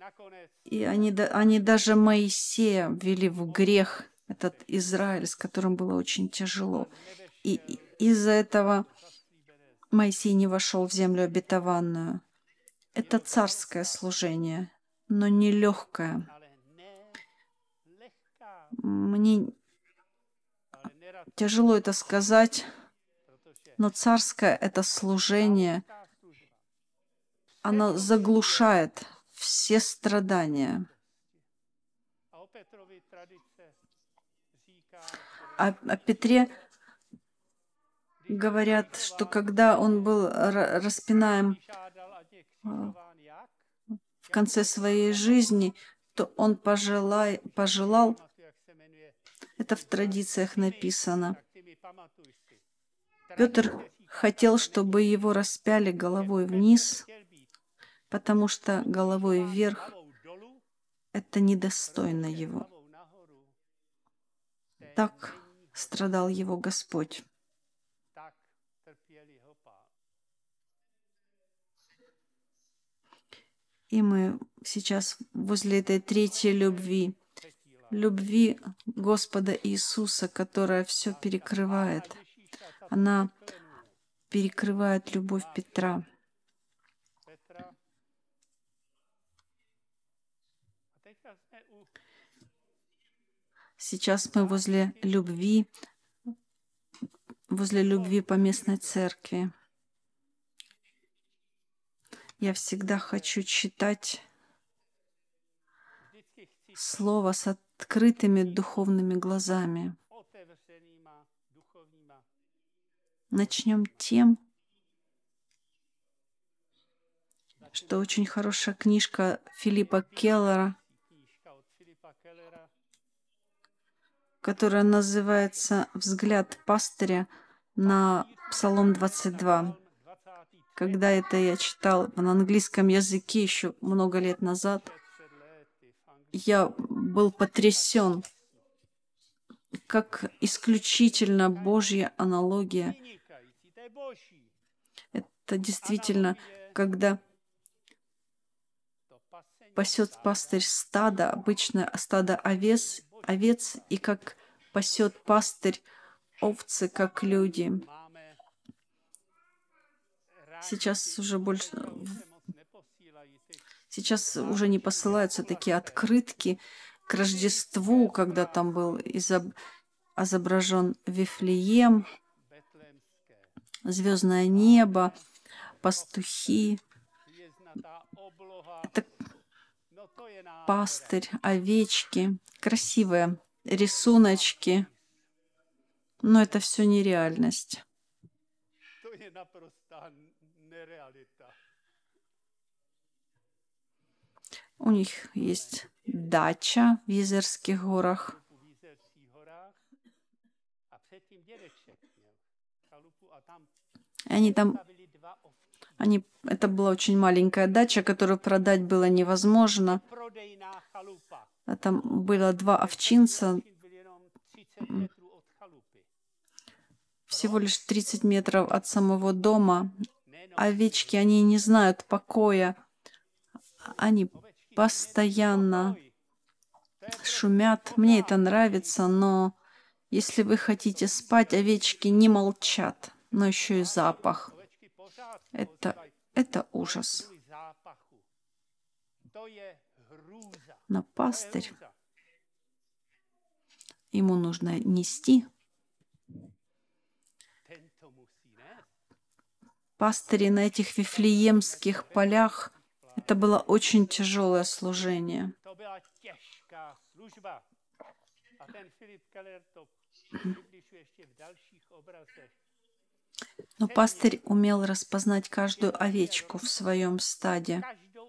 И они даже Моисея ввели в грех, этот Израиль, с которым было очень тяжело. И из-за этого Моисей не вошел в землю обетованную. Это царское служение, но не легкое. Мне тяжело это сказать, но царское это служение, оно заглушает все страдания. О Петре говорят, что когда он был распинаем в конце своей жизни, то он пожелал, это в традициях написано, Петр хотел, чтобы его распяли головой вниз, потому что головой вверх это недостойно его. Так страдал его Господь. И мы сейчас возле этой третьей любви Господа Иисуса, которая все перекрывает. Она перекрывает любовь Петра. Сейчас мы возле любви поместной церкви. Я всегда хочу читать Слово с открытыми духовными глазами. Начнем тем, что очень хорошая книжка Филиппа Келлера, которая называется «Взгляд пастыря на Псалом 22». Когда это я читал на английском языке еще много лет назад, я был потрясен, как исключительно Божья аналогия. Это действительно, когда пасет пастырь стадо, обычно стадо овец, и как пасет пастырь овцы, как люди. Сейчас уже не посылаются такие открытки к Рождеству, когда там был изображен Вифлеем, звездное небо, пастухи. Это пастырь, овечки, красивые рисуночки, но это все нереальность. У них есть дача в Езерских горах. Это была очень маленькая дача, которую продать было невозможно. А там было 2 овчинца. Всего лишь 30 метров от самого дома. Овечки, они не знают покоя. Они постоянно шумят. Мне это нравится, но если вы хотите спать, овечки не молчат, но еще и запах. Это ужас. Но пастырь, ему нужно нести. Пастыри на этих вифлеемских полях, это было очень тяжелое служение. Но пастырь умел распознать каждую овечку в своем стаде.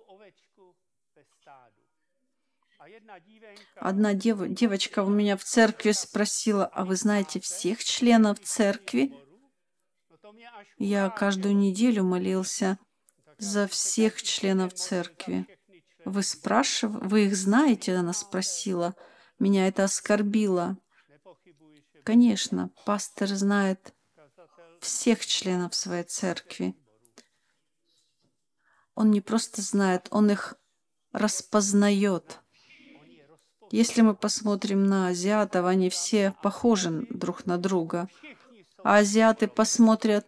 Одна девочка у меня в церкви спросила: а вы знаете всех членов церкви? Я каждую неделю молился за всех членов церкви. Вы их знаете? Она спросила. Меня это оскорбило. Конечно, пастор знает всех членов своей церкви. Он не просто знает, он их распознает. Если мы посмотрим на азиатов, они все похожи друг на друга. А азиаты посмотрят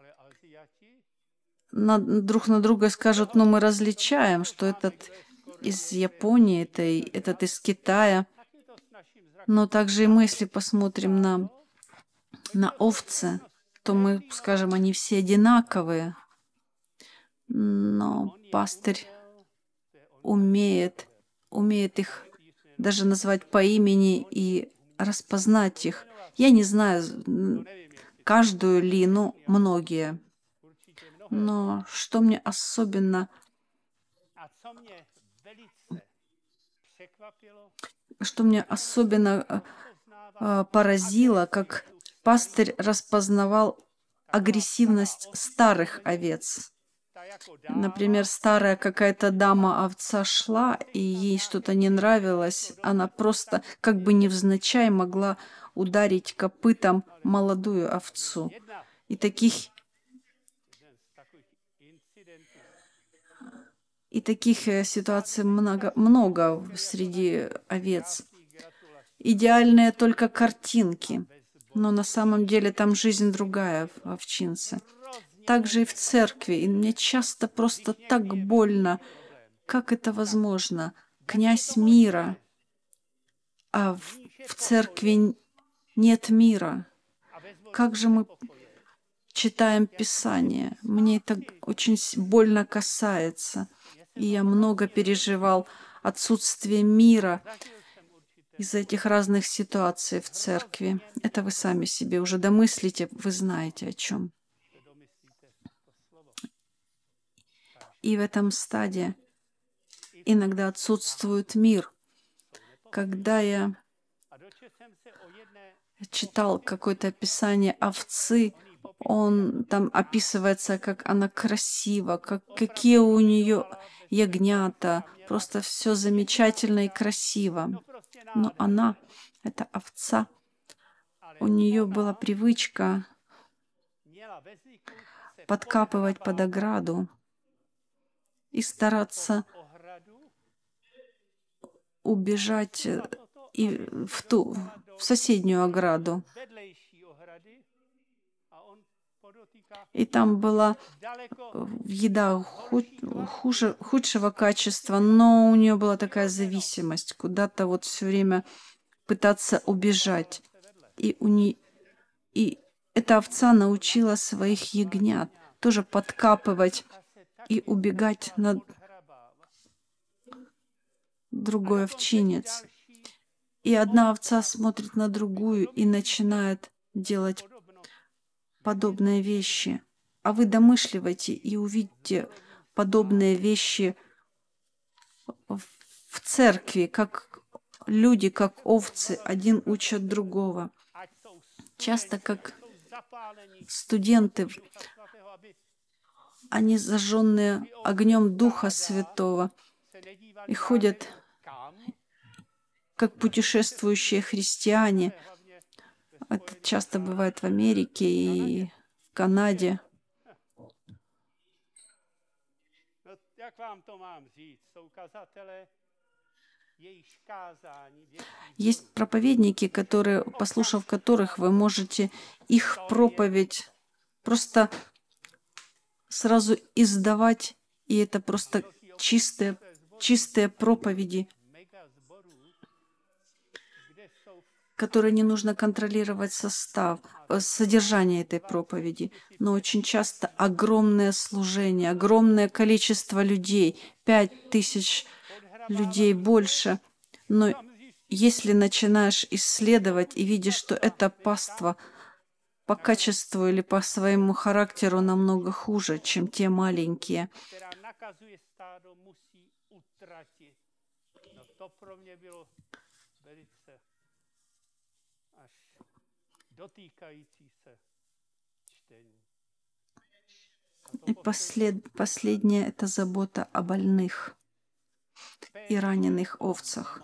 друг на друга и скажут, ну мы различаем, что этот из Японии, этот из Китая. Но также и мы, если посмотрим на овцы, то мы скажем, они все одинаковые. Но пастырь умеет их даже назвать по имени и распознать их. Я не знаю каждую лину, многие. Но что мне особенно поразило, как пастырь распознавал агрессивность старых овец. Например, старая какая-то дама-овца шла, и ей что-то не нравилось, она просто как бы невзначай могла ударить копытом молодую овцу. И таких ситуаций много среди овец. Идеальные только картинки, но на самом деле там жизнь другая в овчинце. Также и в церкви. И мне часто просто так больно. Как это возможно? Князь мира, а в церкви нет мира. Как же мы читаем Писание? Мне это очень больно касается. И я много переживал отсутствие мира из этих разных ситуаций в церкви. Это вы сами себе уже домыслите, вы знаете о чем. И в этом стадии иногда отсутствует мир. Когда я читал какое-то описание овцы, там описывается, как она красива, какие у нее ягнята, просто все замечательно и красиво. Но она, эта овца, у нее была привычка подкапывать под ограду и стараться убежать в соседнюю ограду. И там была еда худшего качества, но у нее была такая зависимость, куда-то вот все время пытаться убежать. И эта овца научила своих ягнят тоже подкапывать и убегать на другой овчинец. И одна овца смотрит на другую и начинает делать подобные вещи. А вы домышливайте и увидите подобные вещи в церкви, как люди, как овцы, один учат другого. Часто как студенты, они зажженные огнем Духа Святого и ходят как путешествующие христиане. Это часто бывает в Америке и в Канаде. Есть проповедники, послушав которых, вы можете их проповедь просто сразу издавать, и это просто чистые проповеди, которые не нужно контролировать содержание этой проповеди, но очень часто огромное служение, огромное количество людей, 5000 людей больше. Но если начинаешь исследовать и видишь, что это паства по качеству или по своему характеру намного хуже, чем те маленькие, и последнее — это забота о больных и раненых овцах.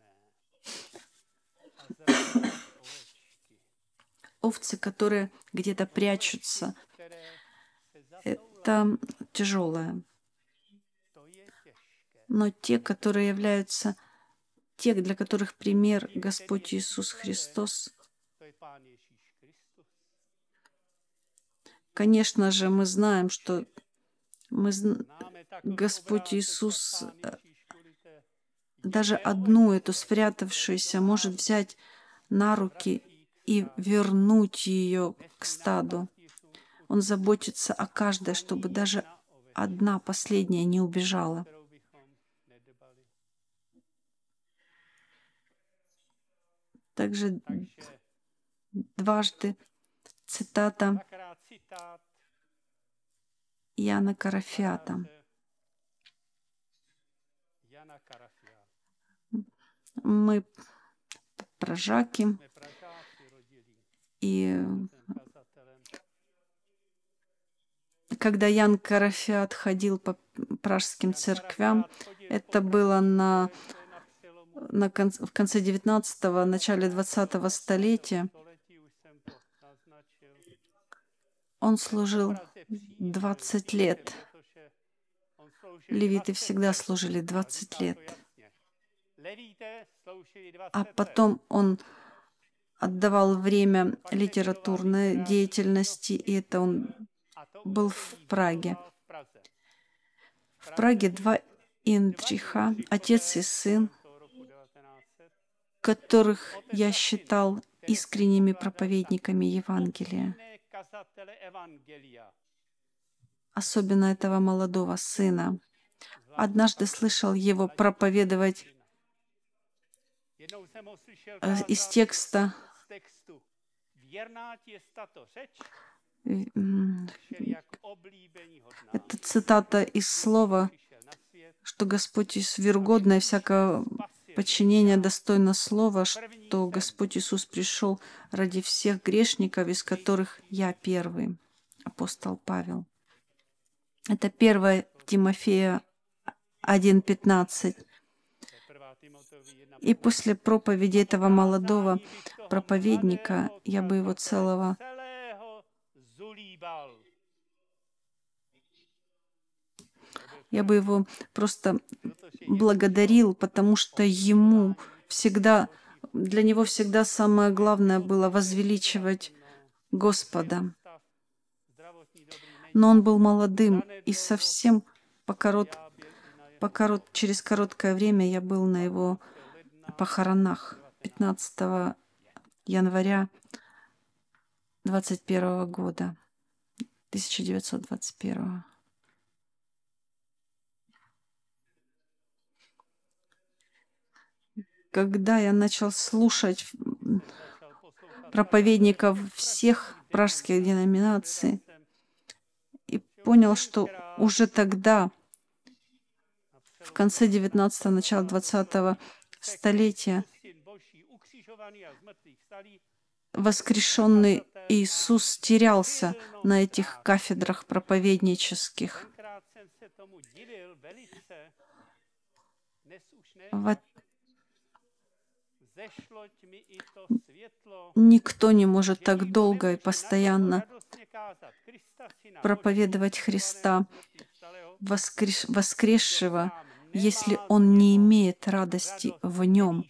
Овцы, которые где-то прячутся, это тяжелое. но те, которые являются, те, для которых пример Господь Иисус Христос. Конечно же, мы знаем, что Господь Иисус даже одну эту спрятавшуюся может взять на руки и вернуть ее к стаду. Он заботится о каждой, чтобы даже одна последняя не убежала. Также дважды цитата Яна Карафиата. Мы прожаки, и когда Ян Карафиат ходил по пражским церквям, это было в конце 19-го, начале 20-го столетия. Он служил 20 лет. Левиты всегда служили 20 лет. А потом он отдавал время литературной деятельности, и это он был в Праге. В Праге два Индриха, отец и сын, которых я считал искренними проповедниками Евангелия. Особенно этого молодого сына. Однажды слышал его проповедовать из текста. Это цитата из слова, что Господь Иисус верогодное всякого подчинения достойно слова, что Господь Иисус пришел ради всех грешников, из которых я первый, апостол Павел. Это 1 Тимофея 1:15. И после проповеди этого молодого проповедника я бы его целого просто благодарил, потому что для него всегда самое главное было возвеличивать Господа. Но он был молодым, и совсем через короткое время я был на его похоронах 15 января 1921 года. Когда я начал слушать проповедников всех пражских деноминаций и понял, что уже тогда, в конце 19-го, начало 20-го столетия, воскрешенный Иисус терялся на этих кафедрах проповеднических. Никто не может так долго и постоянно проповедовать Христа, воскресшего, если он не имеет радости в нем.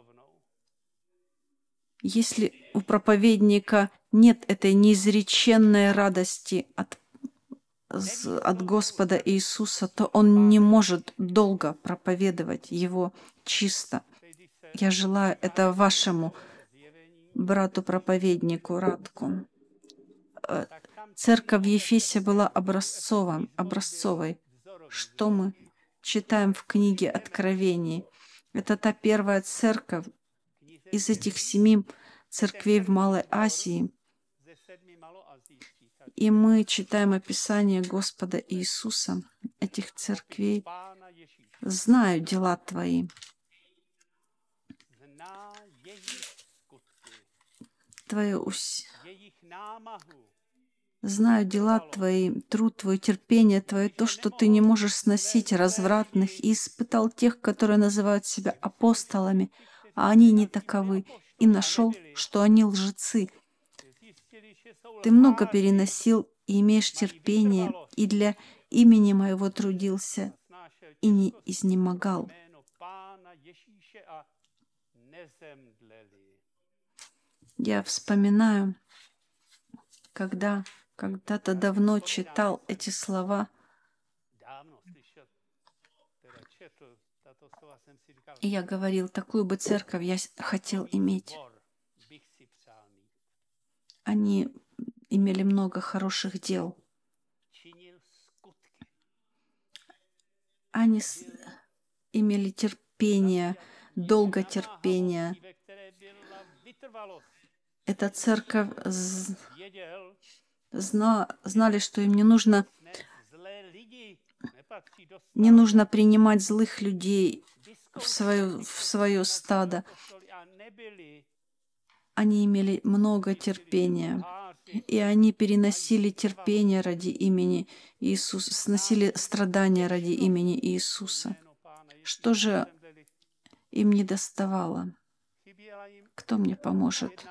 Если у проповедника нет этой неизреченной радости от Господа Иисуса, то он не может долго проповедовать Его чисто. Я желаю это вашему брату-проповеднику Радку. Церковь в Ефесе была образцовой. Что мы читаем в книге Откровений? Это та первая церковь из этих 7 церквей в Малой Азии. И мы читаем описание Господа Иисуса, этих церквей. «Знаю дела твои». Знаю дела твои, труд твой, терпение твое, то, что ты не можешь сносить развратных, и испытал тех, которые называют себя апостолами, а они не таковы, и нашел, что они лжецы. Ты много переносил и имеешь терпение, и для имени моего трудился, и не изнемогал. Я вспоминаю, когда когда-то давно читал эти слова, и я говорил, такую бы церковь я хотел иметь. Они имели много хороших дел. Они имели терпение, долготерпение. Эта церковь знали, что им не нужно принимать злых людей в свое стадо. Они имели много терпения, и они переносили терпение ради имени Иисуса, сносили страдания ради имени Иисуса. Что же им не доставало? Кто мне поможет?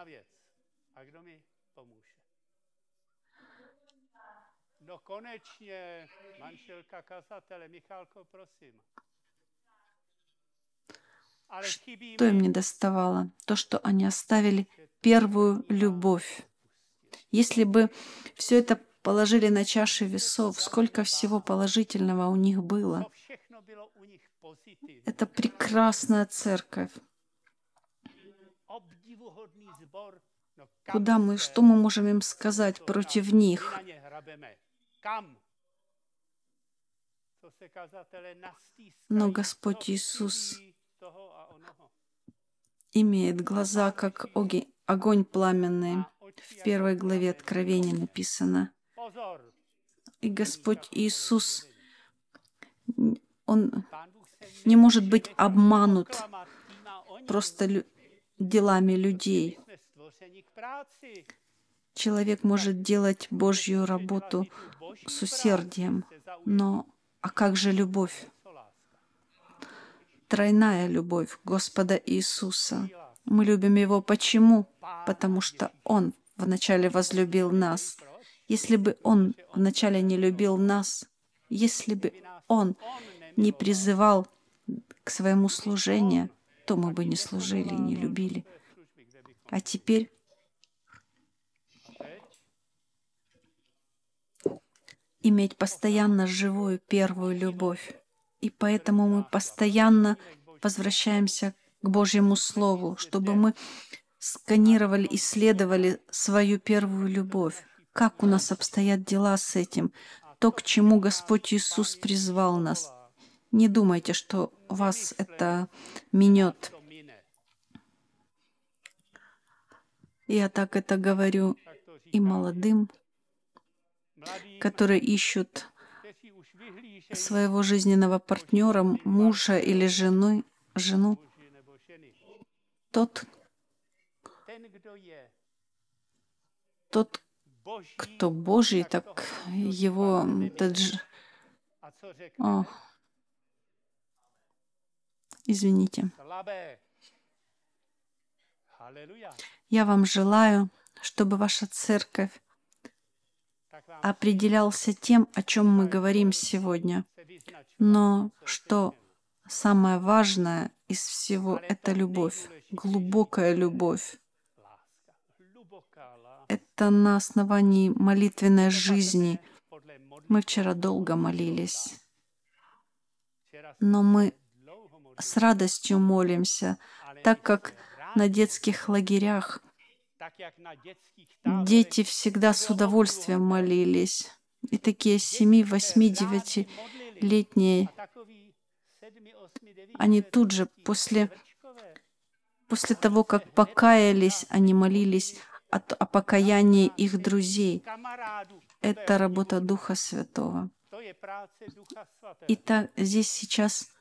Что им не доставало? То, что они оставили первую любовь. Если бы все это положили на чаши весов, сколько всего положительного у них было. Это прекрасная церковь. Что мы можем им сказать против них? Но Господь Иисус имеет глаза, как огонь пламенный. В 1 главе Откровения написано. И Господь Иисус, Он не может быть обманут просто делами людей. Человек может делать Божью работу с усердием, но как же любовь? Тройная любовь Господа Иисуса. Мы любим Его почему? Потому что Он вначале возлюбил нас. Если бы Он вначале не любил нас, если бы Он не призывал к своему служению, то мы бы не служили и не любили. А теперь иметь постоянно живую первую любовь. И поэтому мы постоянно возвращаемся к Божьему Слову, чтобы мы сканировали, исследовали свою первую любовь. Как у нас обстоят дела с этим? То, к чему Господь Иисус призвал нас. Не думайте, что вас это минет. Я так это говорю и молодым, которые ищут своего жизненного партнера, мужа или жену. Тот, кто Божий, так его... Извините. Я вам желаю, чтобы ваша церковь определялся тем, о чем мы говорим сегодня. Но что самое важное из всего — это любовь, глубокая любовь. Это на основании молитвенной жизни. Мы вчера долго молились, но мы с радостью молимся, так как на детских лагерях дети всегда с удовольствием молились. И такие 7, 8, 9-летние, они тут же после того, как покаялись, они молились о покаянии их друзей. Это работа Духа Святого. Итак, здесь сейчас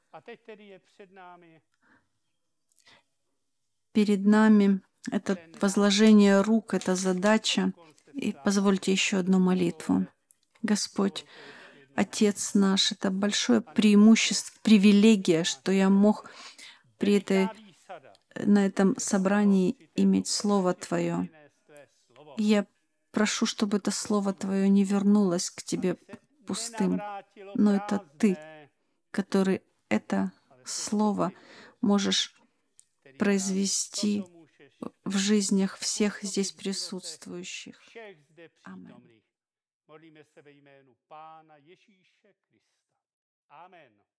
перед нами это возложение рук, это задача. И позвольте еще одну молитву. Господь, Отец наш, это большое преимущество, привилегия, что я мог на этом собрании иметь Слово Твое. И я прошу, чтобы это Слово Твое не вернулось к Тебе пустым, но это Ты, который это слово можешь произвести в жизнях всех здесь присутствующих. Аминь.